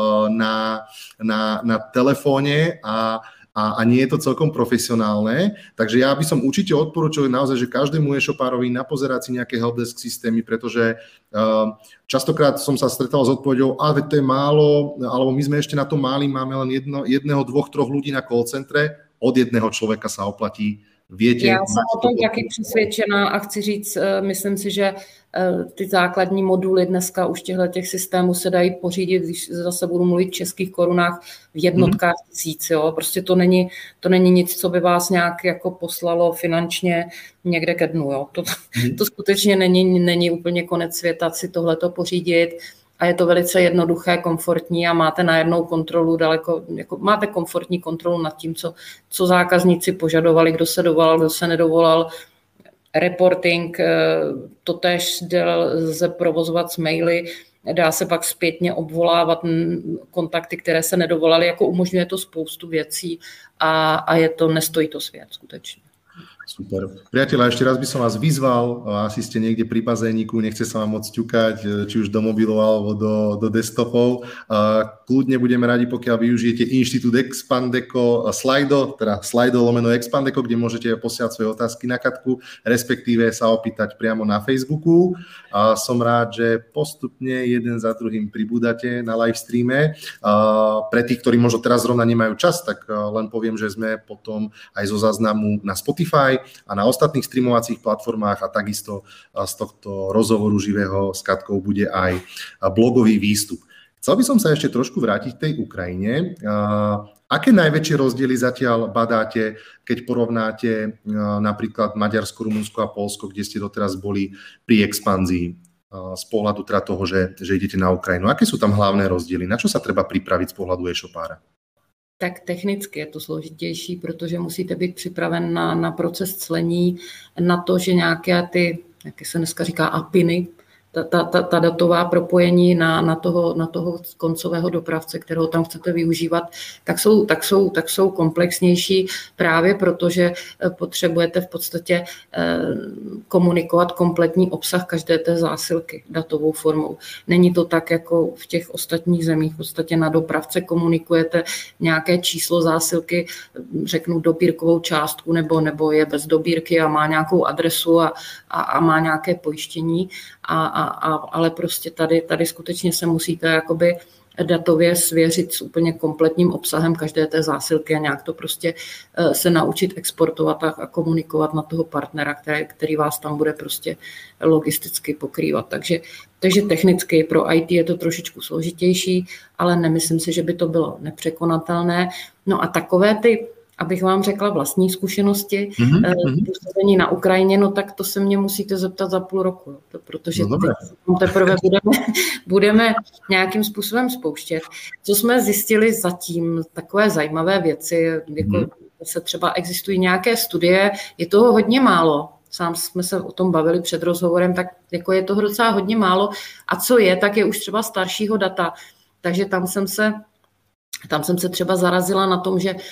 na telefóne a nie je to celkom profesionálne. Takže ja by som určite odporúčil naozaj, že každému e-shopárovi napozerať si nejaké helpdesk systémy, pretože častokrát som sa stretal s odpoveďou, veď to je málo, alebo my sme ešte na to máli, máme len jedného, dvoch, troch ľudí na call centre, od jedného človeka sa oplatí. Viete, já jsem o tom taky přesvědčená a chci říct, myslím si, že ty základní moduly dneska už těch systémů se dají pořídit, když zase budu mluvit v českých korunách, v jednotkách tisíc. Jo? Prostě to není nic, co by vás nějak jako poslalo finančně někde ke dnu. Jo? To skutečně není úplně konec světa si tohleto pořídit. A je to velice jednoduché, komfortní a máte najednou kontrolu máte komfortní kontrolu nad tím, co zákazníci požadovali, kdo se dovolal, kdo se nedovolal. Reporting, to též lze provozovat s maily, dá se pak zpětně obvolávat kontakty, které se nedovolaly, jako umožňuje to spoustu věcí a nestojí to svět skutečně. Super. Priatelia, ešte raz by som vás vyzval, asi ste niekde pri bazéniku, nechce sa vám moc ťukať, či už do mobilov alebo do desktopov. Kľudne budeme radi, pokiaľ využijete Inštitút Expandeco Slido, teda Slido/Expandeco, kde môžete posielať svoje otázky na Katku, respektíve sa opýtať priamo na Facebooku. Som rád, že postupne jeden za druhým pribúdate na live streame. Pre tých, ktorí možno teraz zrovna nemajú čas, tak len poviem, že sme potom aj zo záznamu na Spotify a na ostatných streamovacích platformách a takisto z tohto rozhovoru živého s Katkou bude aj blogový výstup. Chcel by som sa ešte trošku vrátiť k tej Ukrajine. Aké najväčšie rozdiely zatiaľ badáte, keď porovnáte napríklad Maďarsko, Rumunsko a Poľsko, kde ste doteraz boli pri expanzii z pohľadu teda toho, že idete na Ukrajinu? Aké sú tam hlavné rozdiely? Na čo sa treba pripraviť z pohľadu e-shopára? Tak technicky je to složitější, protože musíte být připraven na proces clení, na to, že nějaké ty, jak se dneska říká, APIny, ta datová propojení na toho koncového dopravce, kterého tam chcete využívat, tak jsou komplexnější právě protože potřebujete v podstatě komunikovat kompletní obsah každé té zásilky datovou formou. Není to tak, jako v těch ostatních zemích. V podstatě na dopravce komunikujete nějaké číslo zásilky, řeknu dobírkovou částku, nebo je bez dobírky a má nějakou adresu a má nějaké pojištění, ale prostě tady skutečně se musíte jakoby datově svěřit s úplně kompletním obsahem každé té zásilky a nějak to prostě se naučit exportovat a komunikovat na toho partnera, který vás tam bude prostě logisticky pokrývat. Takže technicky pro IT je to trošičku složitější, ale nemyslím si, že by to bylo nepřekonatelné. No a takové ty, abych vám řekla vlastní zkušenosti, působení na Ukrajině, no tak to se mě musíte zeptat za půl roku, protože teprve budeme nějakým způsobem spouštět. Co jsme zjistili zatím, takové zajímavé věci, jako se třeba existují nějaké studie, je toho hodně málo. Sám jsme se o tom bavili před rozhovorem, tak jako je toho docela hodně málo. A co je, tak je už třeba staršího data. Takže tam jsem se třeba zarazila na tom, že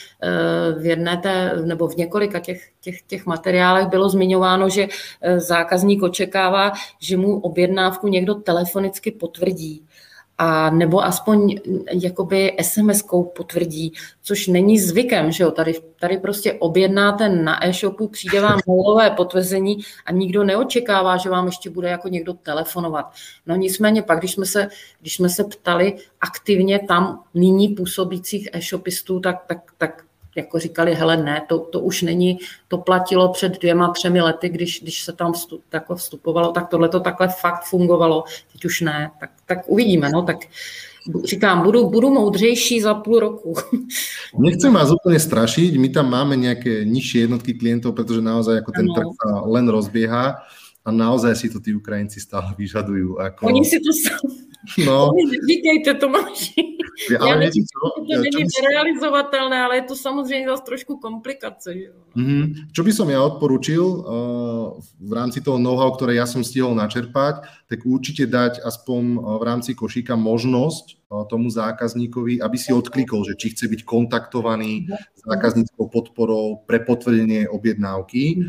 v několika těch materiálech bylo zmiňováno, že zákazník očekává, že mu objednávku někdo telefonicky potvrdí. A nebo aspoň jakoby SMS-kou potvrdí, což není zvykem, že jo, tady prostě objednáte na e-shopu, přijde vám mailové potvrzení a nikdo neočekává, že vám ještě bude jako někdo telefonovat. No nicméně pak, když jsme se ptali aktivně tam nyní působících e-shopistů, tak jako říkali, hele ne, to už není, to platilo před 2-3 lety, když se tam vstupovalo, tak tohle to takhle fakt fungovalo, teď už ne, tak uvidíme, no, tak říkám, budu moudřejší za půl roku. Nechcem vás úplne strašiť, my tam máme nejaké nižšie jednotky klientov, pretože naozaj ako ten trh sa len rozbieha a naozaj si to tí Ukrajinci stále vyžadujú. Oni si to No. Neříkejte, Tomáši. Já nevím, to není nerealizovatelné, ale je to samozřejmě zase trošku komplikace. Že? Čo by som ja odporučil v rámci toho know-how, ktoré ja som stihol načerpať, tak určite dať aspoň v rámci košíka možnosť tomu zákazníkovi, aby si odklikol, že či chce byť kontaktovaný zákazníckou podporou pre potvrdenie objednávky.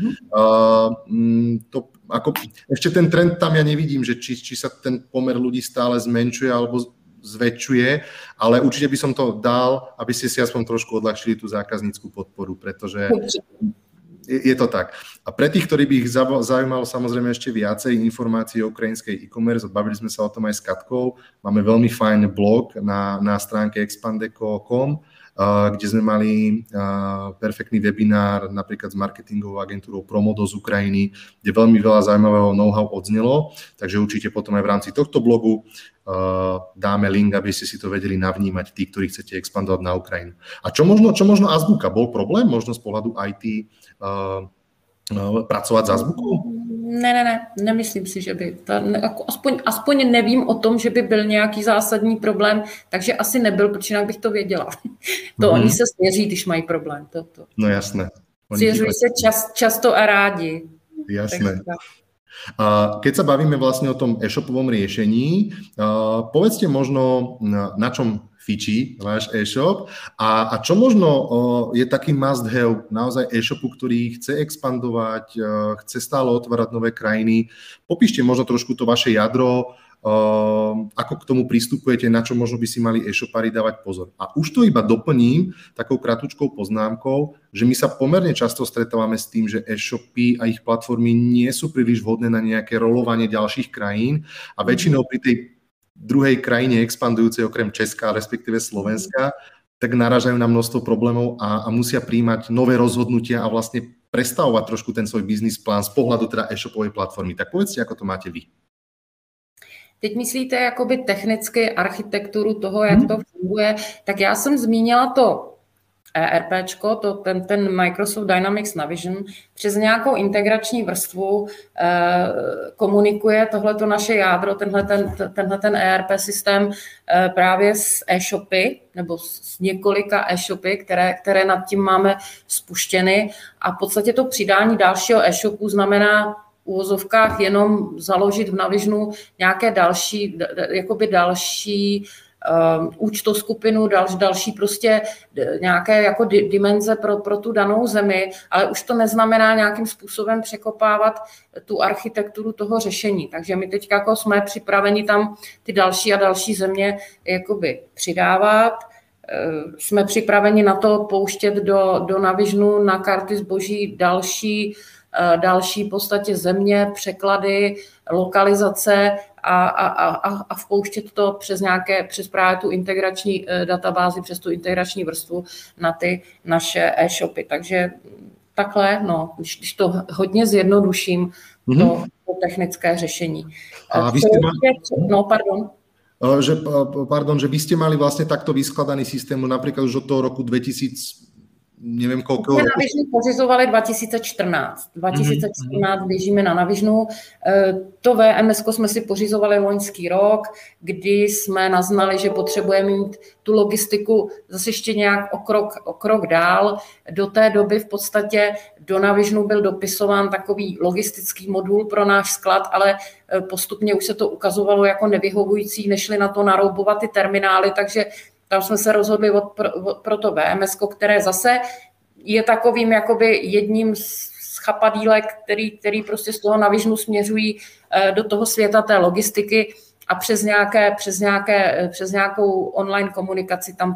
Ešte ten trend tam ja nevidím, že či sa ten pomer ľudí stále zmenšuje alebo zväčšuje, ale určite by som to dal, aby ste si aspoň trošku odľahčili tú zákaznícku podporu, pretože je to tak. A pre tých, ktorí by ich zaujímalo samozrejme ešte viacej informácií o ukrajinskej e-commerce, bavili sme sa o tom aj s Katkou, máme veľmi fajn blog na stránke expandeco.com, kde sme mali perfektný webinár napríklad s marketingovou agentúrou Promodo z Ukrajiny, kde veľmi veľa zaujímavého know-how odznelo, takže určite potom aj v rámci tohto blogu dáme link, aby ste si to vedeli navnímať, tí, ktorí chcete expandovať na Ukrajinu. A čo možno Azbuka? Bol problém možno z pohľadu IT pracovat s Azbukou? Ne, nemyslím si, že by. Aspoň nevím o tom, že by byl nějaký zásadní problém, takže asi nebyl, protože jinak bych to věděla. Oni se svěří, když mají problém. No jasné. Svěřují se často a rádi. Jasné. Keď sa bavíme vlastne o tom e-shopovom riešení, povedzte možno, na čom fičí váš e-shop a čo možno je taký must have naozaj e-shopu, ktorý chce expandovať, chce stále otvárať nové krajiny. Popíšte možno trošku to vaše jadro, ako k tomu pristupujete, na čo možno by si mali e-shopári dávať pozor. A už to iba doplním takou kratučkou poznámkou, že my sa pomerne často stretávame s tým, že e-shopy a ich platformy nie sú príliš vhodné na nejaké rolovanie ďalších krajín a väčšinou pri tej druhej krajine expandujúcej okrem Česka, respektíve Slovenska, tak narážajú na množstvo problémov a musia príjmať nové rozhodnutia a vlastne prestavovať trošku ten svoj biznis plán z pohľadu teda e-shopovej platformy. Tak povedzte, ako to máte vy. Teď myslíte jakoby technicky architekturu toho, jak to funguje, tak já jsem zmínila to ERPčko, ten Microsoft Dynamics Navision, přes nějakou integrační vrstvu komunikuje tohleto naše jádro, tenhle ERP systém právě s e-shopy, nebo s několika e-shopy, které nad tím máme spuštěny a v podstatě to přidání dalšího e-shopu znamená v uvozovkách jenom založit v Navisionu nějaké další účtoskupinu, další prostě nějaké jako dimenze pro tu danou zemi, ale už to neznamená nějakým způsobem překopávat tu architekturu toho řešení. Takže my teď jako jsme připraveni tam ty další a další země jakoby přidávat. Jsme připraveni na to pouštět do Navisionu na karty zboží další v podstatě země, překlady, lokalizace a vpouštět to přes právě tu integrační databázi, přes tu integrační vrstvu na ty naše e-shopy. Takže takhle, no, když to hodně zjednoduším, to technické řešení. A vy ste že vy ste mali vlastne takto vyskladaný systém napríklad už od toho roku 2000, neviem koľko. My na Navisionu pořizovali 2014. 2014 běžíme na Navisionu. To VMS jsme si pořizovali loňský rok, kdy jsme naznali, že potřebujeme mít tu logistiku zase ještě nějak o krok dál. Do té doby v podstatě do Navisionu byl dopisován takový logistický modul pro náš sklad, ale postupně už se to ukazovalo jako nevyhovující, nešli na to naroubovat ty terminály, takže tam jsme se rozhodli pro to VMS, které zase je takovým jakoby jedním z chapadílek, který prostě z toho Navisionu směřují do toho světa té logistiky a přes nějakou online komunikaci tam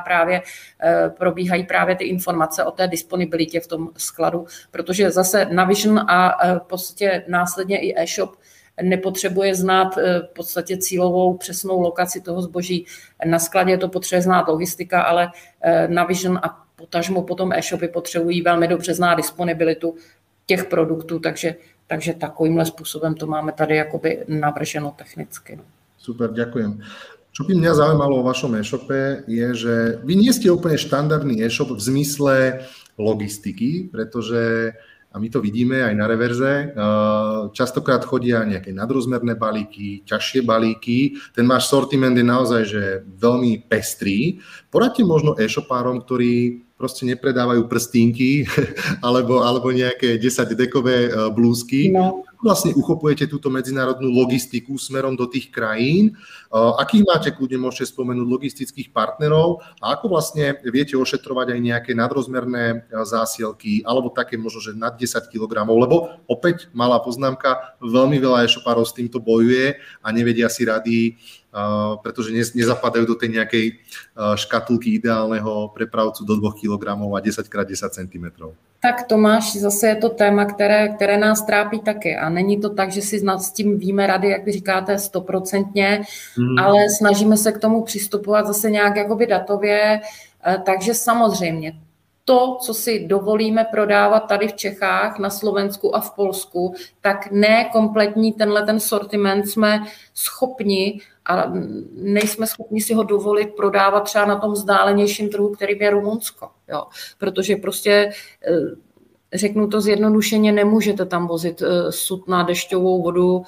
probíhají právě ty informace o té disponibilitě v tom skladu, protože zase Navision a v podstatě následně i e-shop nepotřebuje znát v podstatě cílovou přesnou lokaci toho zboží na skladě, to potřebuje znát logistika, ale Navision a potažmo potom e-shopy potřebují velmi dobře znát disponibilitu těch produktů, takže takovýmhle způsobem to máme tady jakoby navrženo technicky. No. Super, ďakujem. Čo by mňa zaujímalo o vašom e-shope je, že vy nie ste úplne štandardný e-shop v zmysle logistiky, pretože a my to vidíme aj na reverze. Častokrát chodia nejaké nadrozmerné balíky, ťažšie balíky. Ten váš sortiment je naozaj že veľmi pestrý. Poradte možno e-shopárom, ktorí proste nepredávajú prstínky alebo nejaké 10-dekové blúzky. No. Vlastne uchopujete túto medzinárodnú logistiku smerom do tých krajín. Akých máte, kľudne môžete spomenúť logistických partnerov a ako vlastne viete ošetrovať aj nejaké nadrozmerné zásielky alebo také možno, že nad 10 kg, lebo opäť malá poznámka, veľmi veľa e-shopárov s týmto bojuje a nevedia si rady, pretože nezapadajú do tej nejakej škatulky ideálneho prepravcu do 2 kg a 10x10 cm. Tak Tomáš, zase je to téma, které nás trápí taky a není to tak, že si s tím víme rady, jak vy říkáte, 100%, ale snažíme se k tomu přistupovat zase nějak jakoby datově, takže samozřejmě to, co si dovolíme prodávat tady v Čechách, na Slovensku a v Polsku, tak ne kompletní ten sortiment jsme schopni a nejsme schopni si ho dovolit prodávat třeba na tom vzdálenějším trhu, kterým je Rumunsko. Jo. Protože prostě, řeknu to zjednodušeně, nemůžete tam vozit sutna, dešťovou vodu,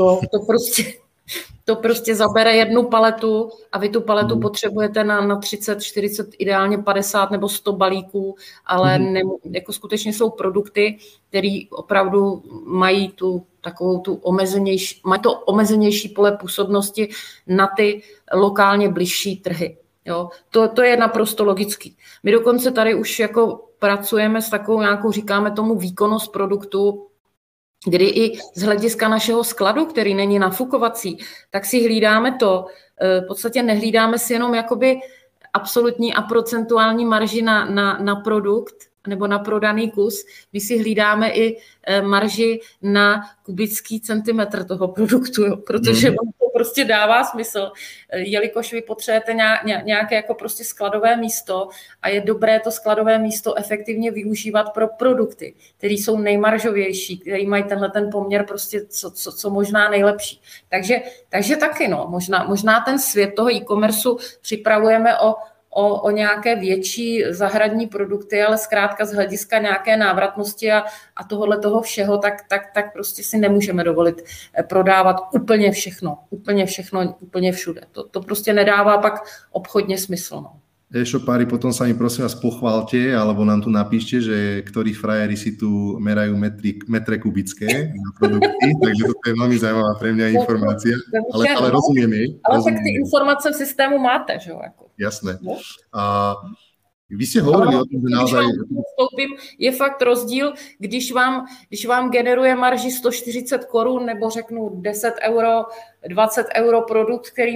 to prostě zabere jednu paletu a vy tu paletu potřebujete na 30, 40, ideálně 50 nebo 100 balíků, ale jako skutečně jsou produkty, které opravdu mají tu takovou tu omezenější, mají to omezenější pole působnosti na ty lokálně bližší trhy. Jo? To je naprosto logický. My dokonce tady už jako pracujeme s takovou nějakou, říkáme tomu výkonnost produktu, kdy i z hlediska našeho skladu, který není nafukovací, tak si hlídáme to, v podstatě nehlídáme si jenom jakoby absolutní a procentuální marži na produkt nebo na prodaný kus, my si hlídáme i marži na kubický centimetr toho produktu, jo, protože vám to prostě dává smysl, jelikož vy potřebujete nějaké jako prostě skladové místo a je dobré to skladové místo efektivně využívat pro produkty, které jsou nejmaržovější, které mají tenhle ten poměr prostě co možná nejlepší. Takže taky možná ten svět toho e-commerceu připravujeme o nějaké větší zahradní produkty, ale zkrátka z hlediska nějaké návratnosti a tohohle toho všeho, tak prostě si nemůžeme dovolit prodávat úplně všechno, úplně všude. To prostě nedává pak obchodně smysl. No. E-shopári, potom sa mi prosím vás pochválte, alebo nám tu napíšte, že ktorí frajeri si tu merajú metre kubické na produkty, takže to je veľmi zaujímavá pre mňa informácia, ale rozumiem jej. Ale tak ty informace v systému máte, že jo? Jako. Jasné. Vy ste hovorili o tom, že naozaj... Je fakt rozdíl, když vám generuje marži 140 korun nebo řeknu 10 euro, 20 euro produkt, který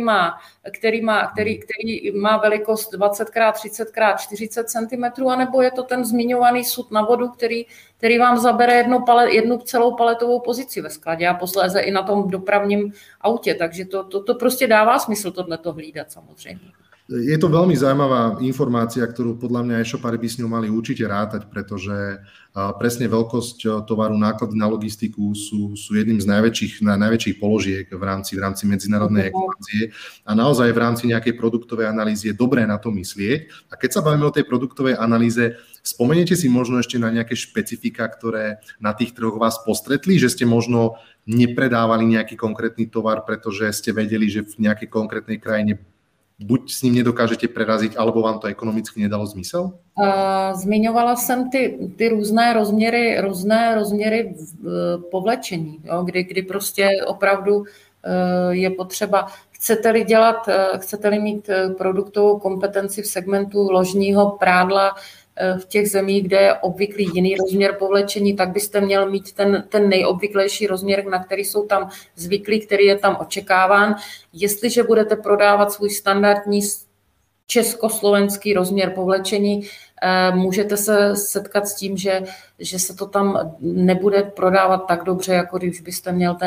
má velikost 20x30x40 cm, anebo je to ten zmiňovaný sud na vodu, který vám zabere jednu celou paletovou pozici ve skladě a posléze i na tom dopravním autě. Takže to prostě dává smysl tohleto hlídat samozřejmě. Je to veľmi zaujímavá informácia, ktorú podľa mňa e-shopári by s ňou mali určite rátať, pretože presne veľkosť tovaru, náklady na logistiku sú jedným z najväčších položiek v rámci medzinárodnej expanzie a naozaj v rámci nejakej produktovej analýzy je dobré na to myslieť. A keď sa bavíme o tej produktovej analýze, spomeniete si možno ešte na nejaké špecifika, ktoré na tých trhoch vás postretli, že ste možno nepredávali nejaký konkrétny tovar, pretože ste vedeli, že v nejakej konkrétnej krajine buď s ním nedokážete preraziť, alebo vám to ekonomicky nedalo zmysel? Zmiňovala jsem ty různé rozměry povlečení, jo, kdy prostě opravdu je potřeba, chcete-li mít produktovou kompetenci v segmentu ložního prádla v těch zemích, kde je obvyklý jiný rozměr povlečení, tak byste měl mít ten nejobvyklejší rozměr, na který jsou tam zvyklí, který je tam očekáván. Jestliže budete prodávat svůj standardní československý rozměr povlečení, můžete se setkat s tím, že se to tam nebude prodávat tak dobře, jako když byste měl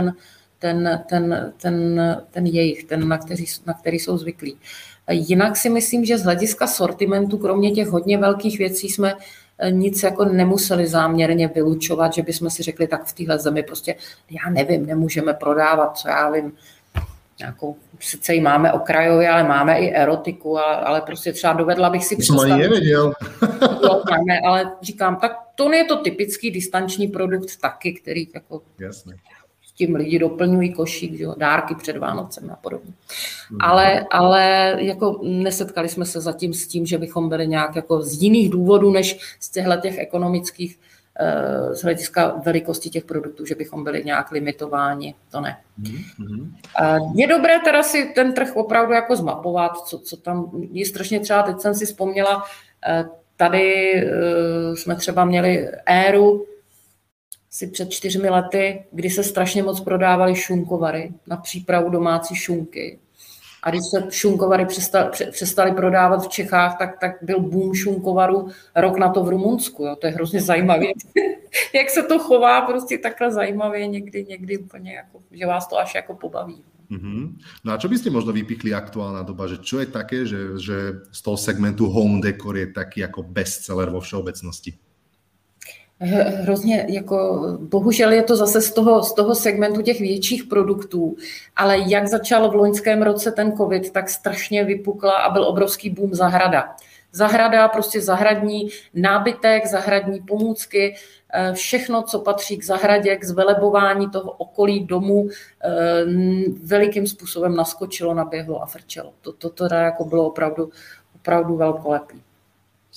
ten jejich, na který jsou zvyklí. Jinak si myslím, že z hlediska sortimentu, kromě těch hodně velkých věcí, jsme nic jako nemuseli záměrně vylučovat, že bychom si řekli, tak v téhle zemi prostě, já nevím, nemůžeme prodávat, co já vím, nějakou, sice ji máme okrajově, ale máme i erotiku, ale prostě třeba dovedla bych si představit. To ani nevěděl. Máme, ale říkám, tak to je to typický distanční produkt taky, který jako... Jasné. Tím lidi doplňují košík, jo, dárky před Vánocem a podobně. Ale jako nesetkali jsme se zatím s tím, že bychom byli nějak jako z jiných důvodů, než z těch ekonomických, z hlediska velikosti těch produktů, že bychom byli nějak limitováni, to ne. Je dobré teda si ten trh opravdu jako zmapovat, co tam je strašně třeba, teď jsem si vzpomněla, tady jsme třeba měli éru, si před 4 lety, kdy se strašně moc prodávaly šunkovary na přípravu domácí šunky. A když se šunkovary přestali prodávat v Čechách, tak byl boom šunkovaru rok na to v Rumunsku. Jo. To je hrozně zajímavé. Jak se to chová prostě takhle zajímavě někdy úplně, jako, že vás to až jako pobaví. No a čo by ste možno vypichli aktuálna doba, že čo je také, že z toho segmentu home decor je taký ako bestseller vo všeobecnosti? Hrozně, jako bohužel je to zase z toho segmentu těch větších produktů, ale jak začal v loňském roce ten covid, tak strašně vypukla a byl obrovský boom zahrada. Zahrada, prostě zahradní nábytek, zahradní pomůcky, všechno, co patří k zahradě, k zvelebování toho okolí domu, velikým způsobem naskočilo, naběhlo a frčelo. To teda jako bylo opravdu velkolepý.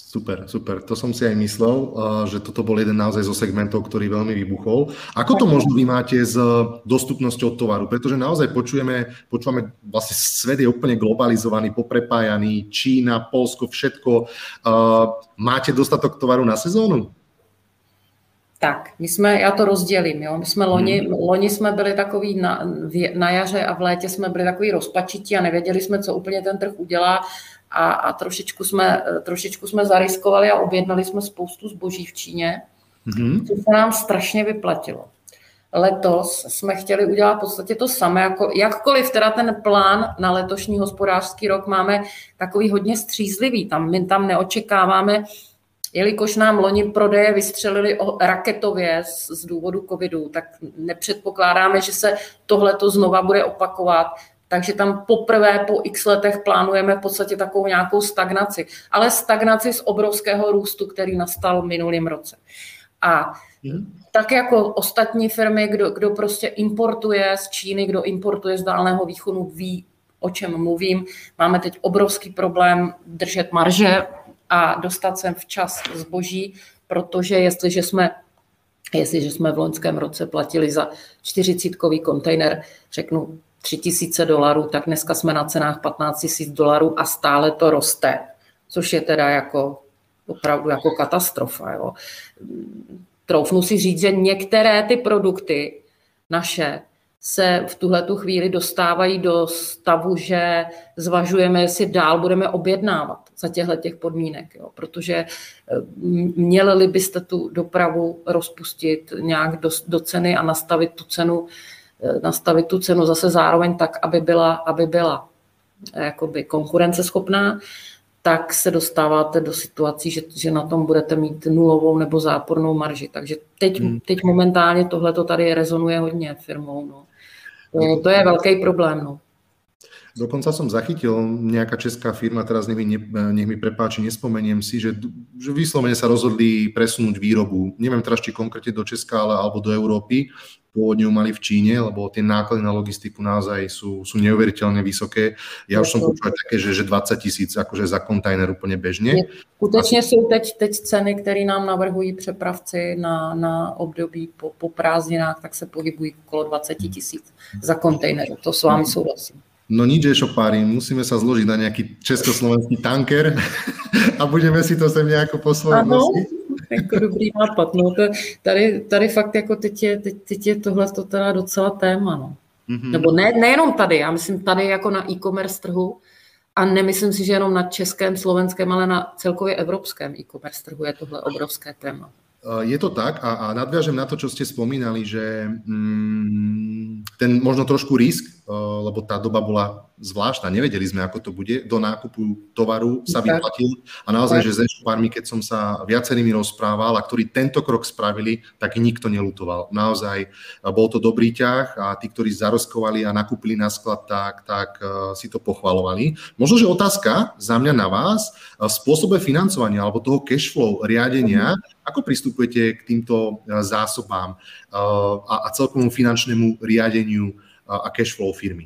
Super, super. To som si aj myslel, že toto bol jeden naozaj zo segmentov, ktorý veľmi vybuchol. Ako to možno vy máte s dostupnosťou tovaru? Pretože naozaj počúvame, vlastne svet je úplne globalizovaný, poprepájaný, Čína, Poľsko, všetko. Máte dostatok tovaru na sezónu? Tak, já to rozdělím, jo. My jsme loni jsme byli takový na jaře a v létě jsme byli takový rozpačití a nevěděli jsme, co úplně ten trh udělá a trošičku jsme zariskovali a objednali jsme spoustu zboží v Číně, co se nám strašně vyplatilo. Letos jsme chtěli udělat v podstatě to samé, jako jakkoliv teda ten plán na letošní hospodářský rok máme takový hodně střízlivý, my tam neočekáváme, jelikož nám loni prodeje vystřelili raketově z důvodu covidu, tak nepředpokládáme, že se tohleto znova bude opakovat. Takže tam poprvé po x letech plánujeme v podstatě takovou nějakou stagnaci. Ale stagnaci z obrovského růstu, který nastal v minulém roce. A tak jako ostatní firmy, kdo prostě importuje z Číny, kdo importuje z Dálného východu, ví, o čem mluvím. Máme teď obrovský problém držet marže a dostat sem včas zboží, protože jestliže jsme v loňském roce platili za 40kový kontejner, řeknu $3,000, tak dneska jsme na cenách $15,000 a stále to roste, což je teda jako opravdu jako katastrofa. Jo. Troufnu si říct, že některé ty produkty naše se v tuhletu chvíli dostávají do stavu, že zvažujeme, jestli dál budeme objednávat za těch podmínek, jo. Protože měli byste tu dopravu rozpustit nějak do ceny a nastavit tu cenu zase zároveň tak, aby byla jakoby konkurenceschopná, tak se dostáváte do situací, že na tom budete mít nulovou nebo zápornou marži. Takže teď momentálně tohleto tady rezonuje hodně firmou. No. To je veľký problém. No. Dokonca som zachytil nejaká česká firma, teraz nech mi prepáči, nespomeniem si, že vyslovene sa rozhodli presunúť výrobu. Neviem teraz, či konkrétne do Česka, alebo do Európy. Pôvodne ju mali v Číne, lebo tie náklady na logistiku naozaj sú neuveriteľne vysoké. Ja už som počul také, že 20 000 akože za kontajner úplne bežne. Skutečně jsou teď ceny, které nám navrhují přepravci na období po prázdninách, tak se pohybují okolo 20 000 za kontejner. To s vámi souhlasím. No nič, Ešopári, musíme sa zložiť na nejaký československý tanker a budeme si to sem nejako po svojom nosiť. Jako dobrý nápad. No, tady fakt jako teď je tohleto teda docela téma. No. Nebo nejenom tady, já myslím tady jako na e-commerce trhu a nemyslím si, že jenom na českém, slovenském, ale na celkově evropském e-commerce trhu je tohle obrovské téma. Je to tak a nadviažem na to, čo ste spomínali, že ten možno trošku risk, lebo tá doba bola zvláštna, nevedeli sme, ako to bude, do nákupu tovaru sa vyplatil a naozaj, že s e-shopármi, keď som sa viacerými rozprával a ktorí tento krok spravili, tak nikto neľutoval. Naozaj bol to dobrý ťah a tí, ktorí zaroskovali a nakúpili na sklad, tak si to pochvalovali. Možno, že otázka za mňa na vás v spôsobe financovania alebo toho cashflow riadenia, ako pristupujete k týmto zásobám a celkovému finančnému riadeniu a cashflow firmy?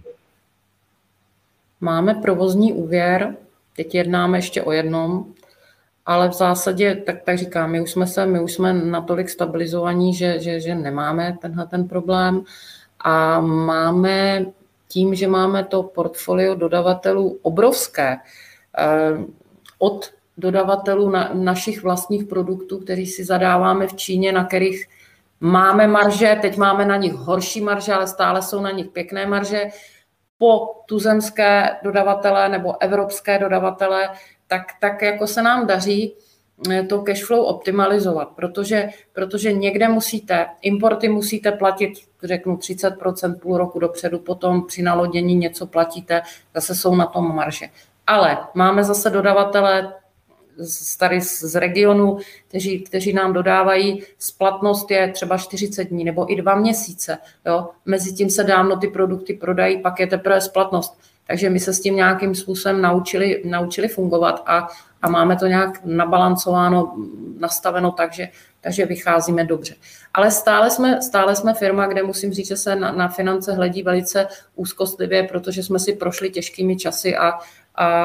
Máme provozní úvěr, teď jednáme ještě o jednom, ale v zásadě, tak říkám, my už jsme natolik stabilizovaní, že nemáme ten problém a máme tím, že máme to portfolio dodavatelů obrovské, od dodavatelů našich vlastních produktů, kteří si zadáváme v Číně, na kterých máme marže, teď máme na nich horší marže, ale stále jsou na nich pěkné marže, po tuzemské dodavatele nebo evropské dodavatele, tak jako se nám daří to cashflow optimalizovat, protože někde importy musíte platit, řeknu 30% půl roku dopředu, potom při nalodění něco platíte, zase jsou na tom marže. Ale máme zase dodavatele tady z regionu, kteří nám dodávají, splatnost je třeba 40 dní nebo i 2 měsíce. Jo? Mezitím se dávno ty produkty prodají, pak je teprve splatnost. Takže my se s tím nějakým způsobem naučili fungovat a máme to nějak nabalancováno, nastaveno tak, takže vycházíme dobře. Ale stále jsme firma, kde musím říct, že se na finance hledí velice úzkostlivě, protože jsme si prošli těžkými časy a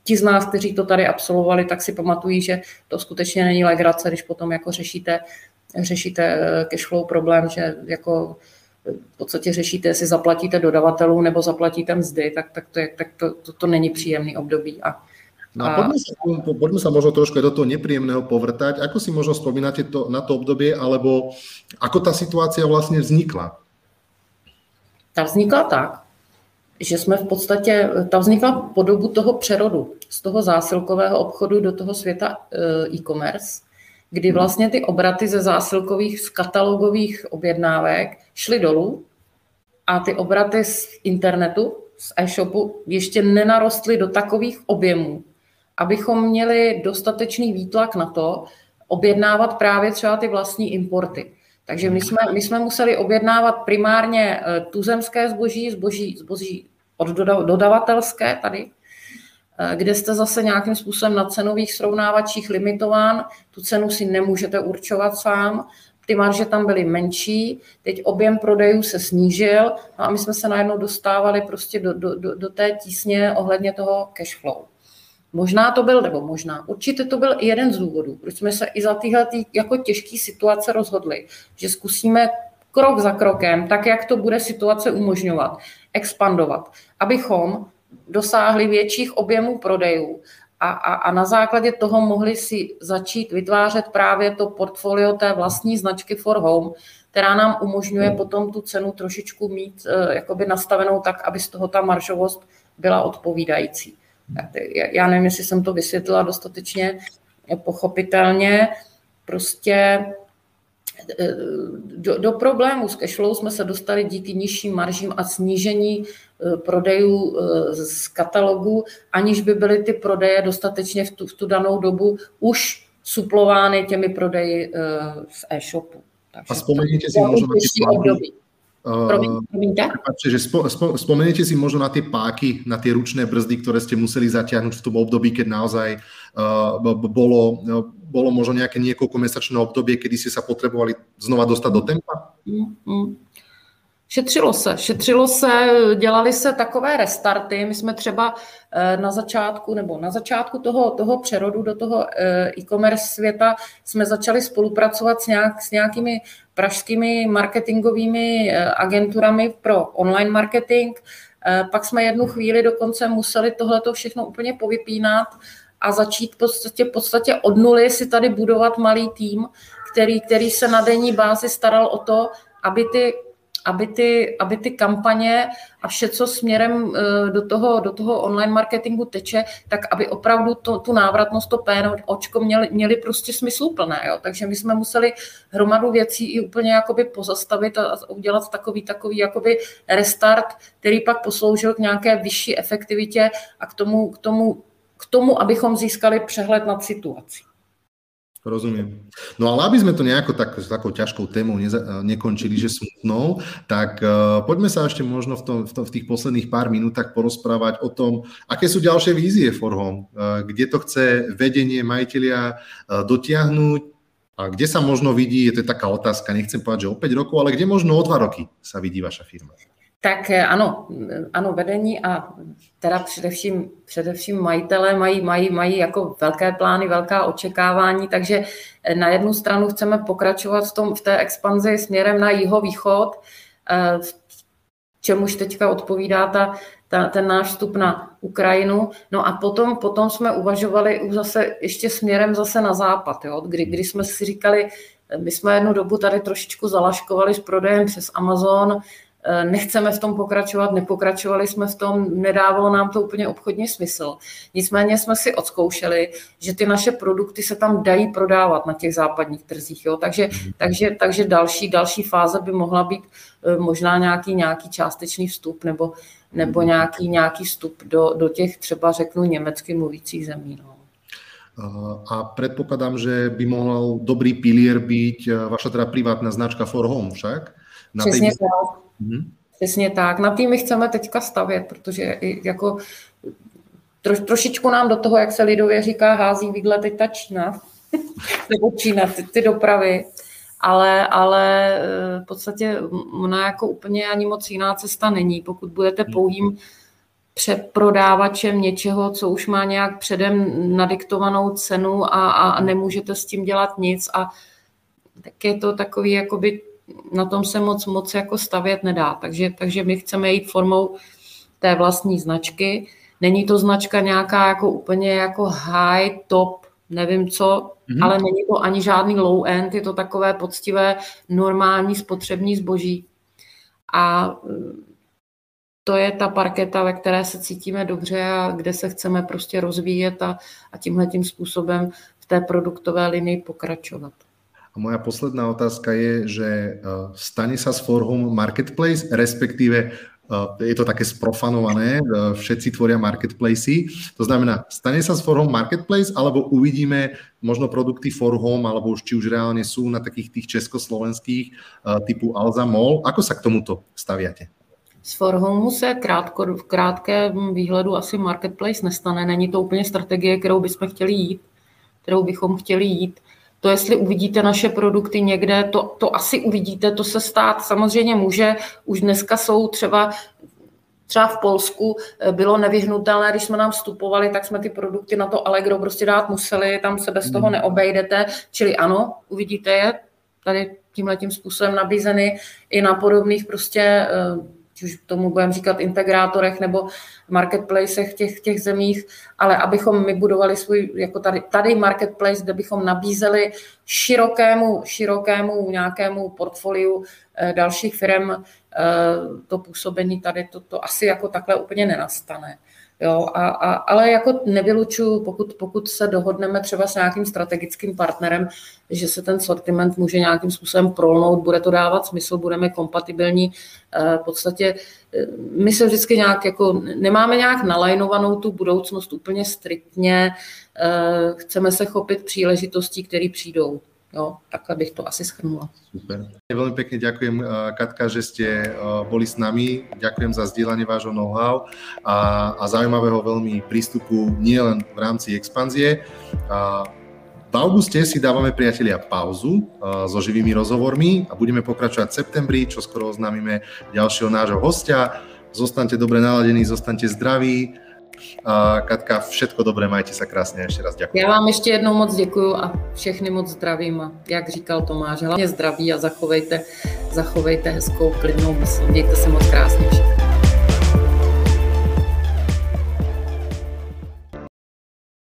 ti z nás, kteří to tady absolvovali, tak si pamatují, že to skutečně není legrace, když potom jako řešíte cashflow problém, že jako v podstatě řešíte, jestli zaplatíte dodavatelů nebo zaplatíte mzdy, tak to není příjemný období. No a poďme sa možno trošku do toho nepríjemného povrtať. Ako si možno spomínate na to obdobie, alebo ako tá situácia vlastne vznikla? Ta vznikla tak, že jsme v podstatě, ta vznikla po dobu toho přerodu z toho zásilkového obchodu do toho světa e-commerce, kdy vlastně ty obraty ze zásilkových, z katalogových objednávek šly dolů a ty obraty z internetu, z e-shopu ještě nenarostly do takových objemů, abychom měli dostatečný výtlak na to objednávat právě třeba ty vlastní importy. Takže my jsme museli objednávat primárně tuzemské zboží od dodavatelské tady, kde jste zase nějakým způsobem na cenových srovnávačích limitován, tu cenu si nemůžete určovat sám, ty marže tam byly menší, teď objem prodejů se snížil, no a my jsme se najednou dostávali prostě do té tísně ohledně toho cash flow. Určitě to byl i jeden z důvodů, proč jsme se i za tyhle jako těžké situace rozhodli, že zkusíme krok za krokem, tak jak to bude situace umožňovat, expandovat, abychom dosáhli větších objemů prodejů a na základě toho mohli si začít vytvářet právě to portfolio té vlastní značky For Home, která nám umožňuje potom tu cenu trošičku mít jakoby nastavenou tak, aby z toho ta maržovost byla odpovídající. Já nevím, jestli jsem to vysvětlila dostatečně pochopitelně. Prostě do problému s cashflow jsme se dostali díky nižším maržím a snížení prodejů z katalogu, aniž by byly ty prodeje dostatečně v tu danou dobu už suplovány těmi prodeji z e-shopu. Takže a vzpomeňte si možno na tie Spomeniete si možno na tie páky, na tie ručné brzdy, ktoré ste museli zatiahnuť v tom období, keď naozaj bolo možno nejaké niekoľkomesačné obdobie, kedy ste sa potrebovali znova dostať do tempa? Šetřilo se, dělali se takové restarty. My jsme třeba na začátku toho přerodu do toho e-commerce světa jsme začali spolupracovat s nějakými pražskými marketingovými agenturami pro online marketing. Pak jsme jednu chvíli dokonce museli tohleto všechno úplně povypínat a začít v podstatě od nuly si tady budovat malý tým, který se na denní bázi staral o to, aby ty kampaně a vše, co směrem do toho online marketingu teče, tak aby opravdu tu návratnost, to PNOčko měli prostě smysluplné. Jo? Takže my jsme museli hromadu věcí i úplně jakoby pozastavit a udělat takový jakoby restart, který pak posloužil k nějaké vyšší efektivitě a k tomu, abychom získali přehled nad situací. Rozumiem. No ale aby sme to nejako takou ťažkou témou nekončili, že smutnou, tak poďme sa ešte možno v tých posledných pár minútach porozprávať o tom, aké sú ďalšie vízie For Home, kde to chce vedenie, majitelia dotiahnuť a kde sa možno vidí, je to taká otázka, nechcem povedať, že o 5 rokov, ale kde možno o 2 roky sa vidí vaša firma. Tak ano, vedení a teda především majitelé mají jako velké plány, velká očekávání, takže na jednu stranu chceme pokračovat v té expanzi směrem na jihovýchod, čemuž teďka odpovídá ten náš vstup na Ukrajinu. No a potom jsme uvažovali už zase ještě směrem zase na západ, jo? Kdy jsme si říkali, my jsme jednu dobu tady trošičku zalaškovali s prodejem přes Amazon, nechceme v tom pokračovat, nepokračovali jsme v tom, nedávalo nám to úplně obchodně smysl. Nicméně jsme si odzkoušeli, že ty naše produkty se tam dají prodávat na těch západních trzích. Jo? Takže další fáze by mohla být možná nějaký částečný vstup nebo nějaký vstup do těch třeba řeknu německy mluvících zemí. No. A predpokladám, že by mohol dobrý pilier byť vaša teda privátna značka For Home však? Přesně tak. Přesně tak. Na tým my chceme teďka stavět, protože jako trošičku nám do toho, jak se lidově říká, hází výgle teď ta Čína, nebo Čína, ty dopravy, ale v podstatě ona jako úplně ani moc jiná cesta není. Pokud budete pouhým přeprodávačem něčeho, co už má nějak předem nadiktovanou cenu a nemůžete s tím dělat nic a tak je to takový, jakoby na tom se moc jako stavět nedá. Takže my chceme jít formou té vlastní značky. Není to značka nějaká jako úplně jako high, top, nevím co, ale není to ani žádný low end, je to takové poctivé, normální spotřební zboží. A to je ta parketa, ve které se cítíme dobře a kde se chceme prostě rozvíjet a tímhletím způsobem v té produktové linii pokračovat. A moja posledná otázka je, že stane sa z For Home marketplace, respektíve je to také sprofanované, všetci tvoria marketplacy. To znamená, stane sa z For Home marketplace, alebo uvidíme možno produkty For Home, alebo či už reálne sú na takých tých československých typu Alza Mall. Ako sa k tomuto staviate? Z For Home se v krátkém výhledu asi marketplace nestane. Není to úplně strategie, kterou bychom chtěli jít. To, jestli uvidíte naše produkty někde, to asi uvidíte, to se stát samozřejmě může. Už dneska jsou třeba v Polsku bylo nevyhnutelné, když jsme nám vstupovali, tak jsme ty produkty na to Allegro prostě dát museli, tam se bez toho neobejdete. Čili ano, uvidíte je tady tímhletím způsobem nabízeny i na podobných prostě, už tomu budeme říkat integrátorech nebo marketplacech v těch zemích, ale abychom my budovali svůj, jako tady marketplace, kde bychom nabízeli širokému nějakému portfoliu dalších firm to působení tady, to asi jako takhle úplně nenastane. Jo, ale jako nevylučuju, pokud se dohodneme třeba s nějakým strategickým partnerem, že se ten sortiment může nějakým způsobem prolnout, bude to dávat smysl, budeme kompatibilní. V podstatě my se vždycky nějak jako nemáme nějak nalajnovanou tu budoucnost úplně striktně, chceme se chopit příležitostí, které přijdou. Jo, takhle bych to asi shrnula. Super. Veľmi pekne ďakujem, Katka, že ste boli s nami. Ďakujem za zdieľanie vášho know-how a zaujímavého veľmi prístupu nielen v rámci expanzie. V auguste si dávame, priatelia, pauzu so živými rozhovormi a budeme pokračovať v septembri, čo skoro oznámime ďalšieho nášho hostia. Zostaňte dobre naladení, zostaňte zdraví. Katka, všetko dobré, majte sa krásne, ešte raz ďakujem. Já vám ještě jednou moc děkuju a všechny moc zdravím a jak říkal Tomáš, hlavně zdraví a zachovejte hezkou, klidnou mysl. Mějte se moc krásně všichni.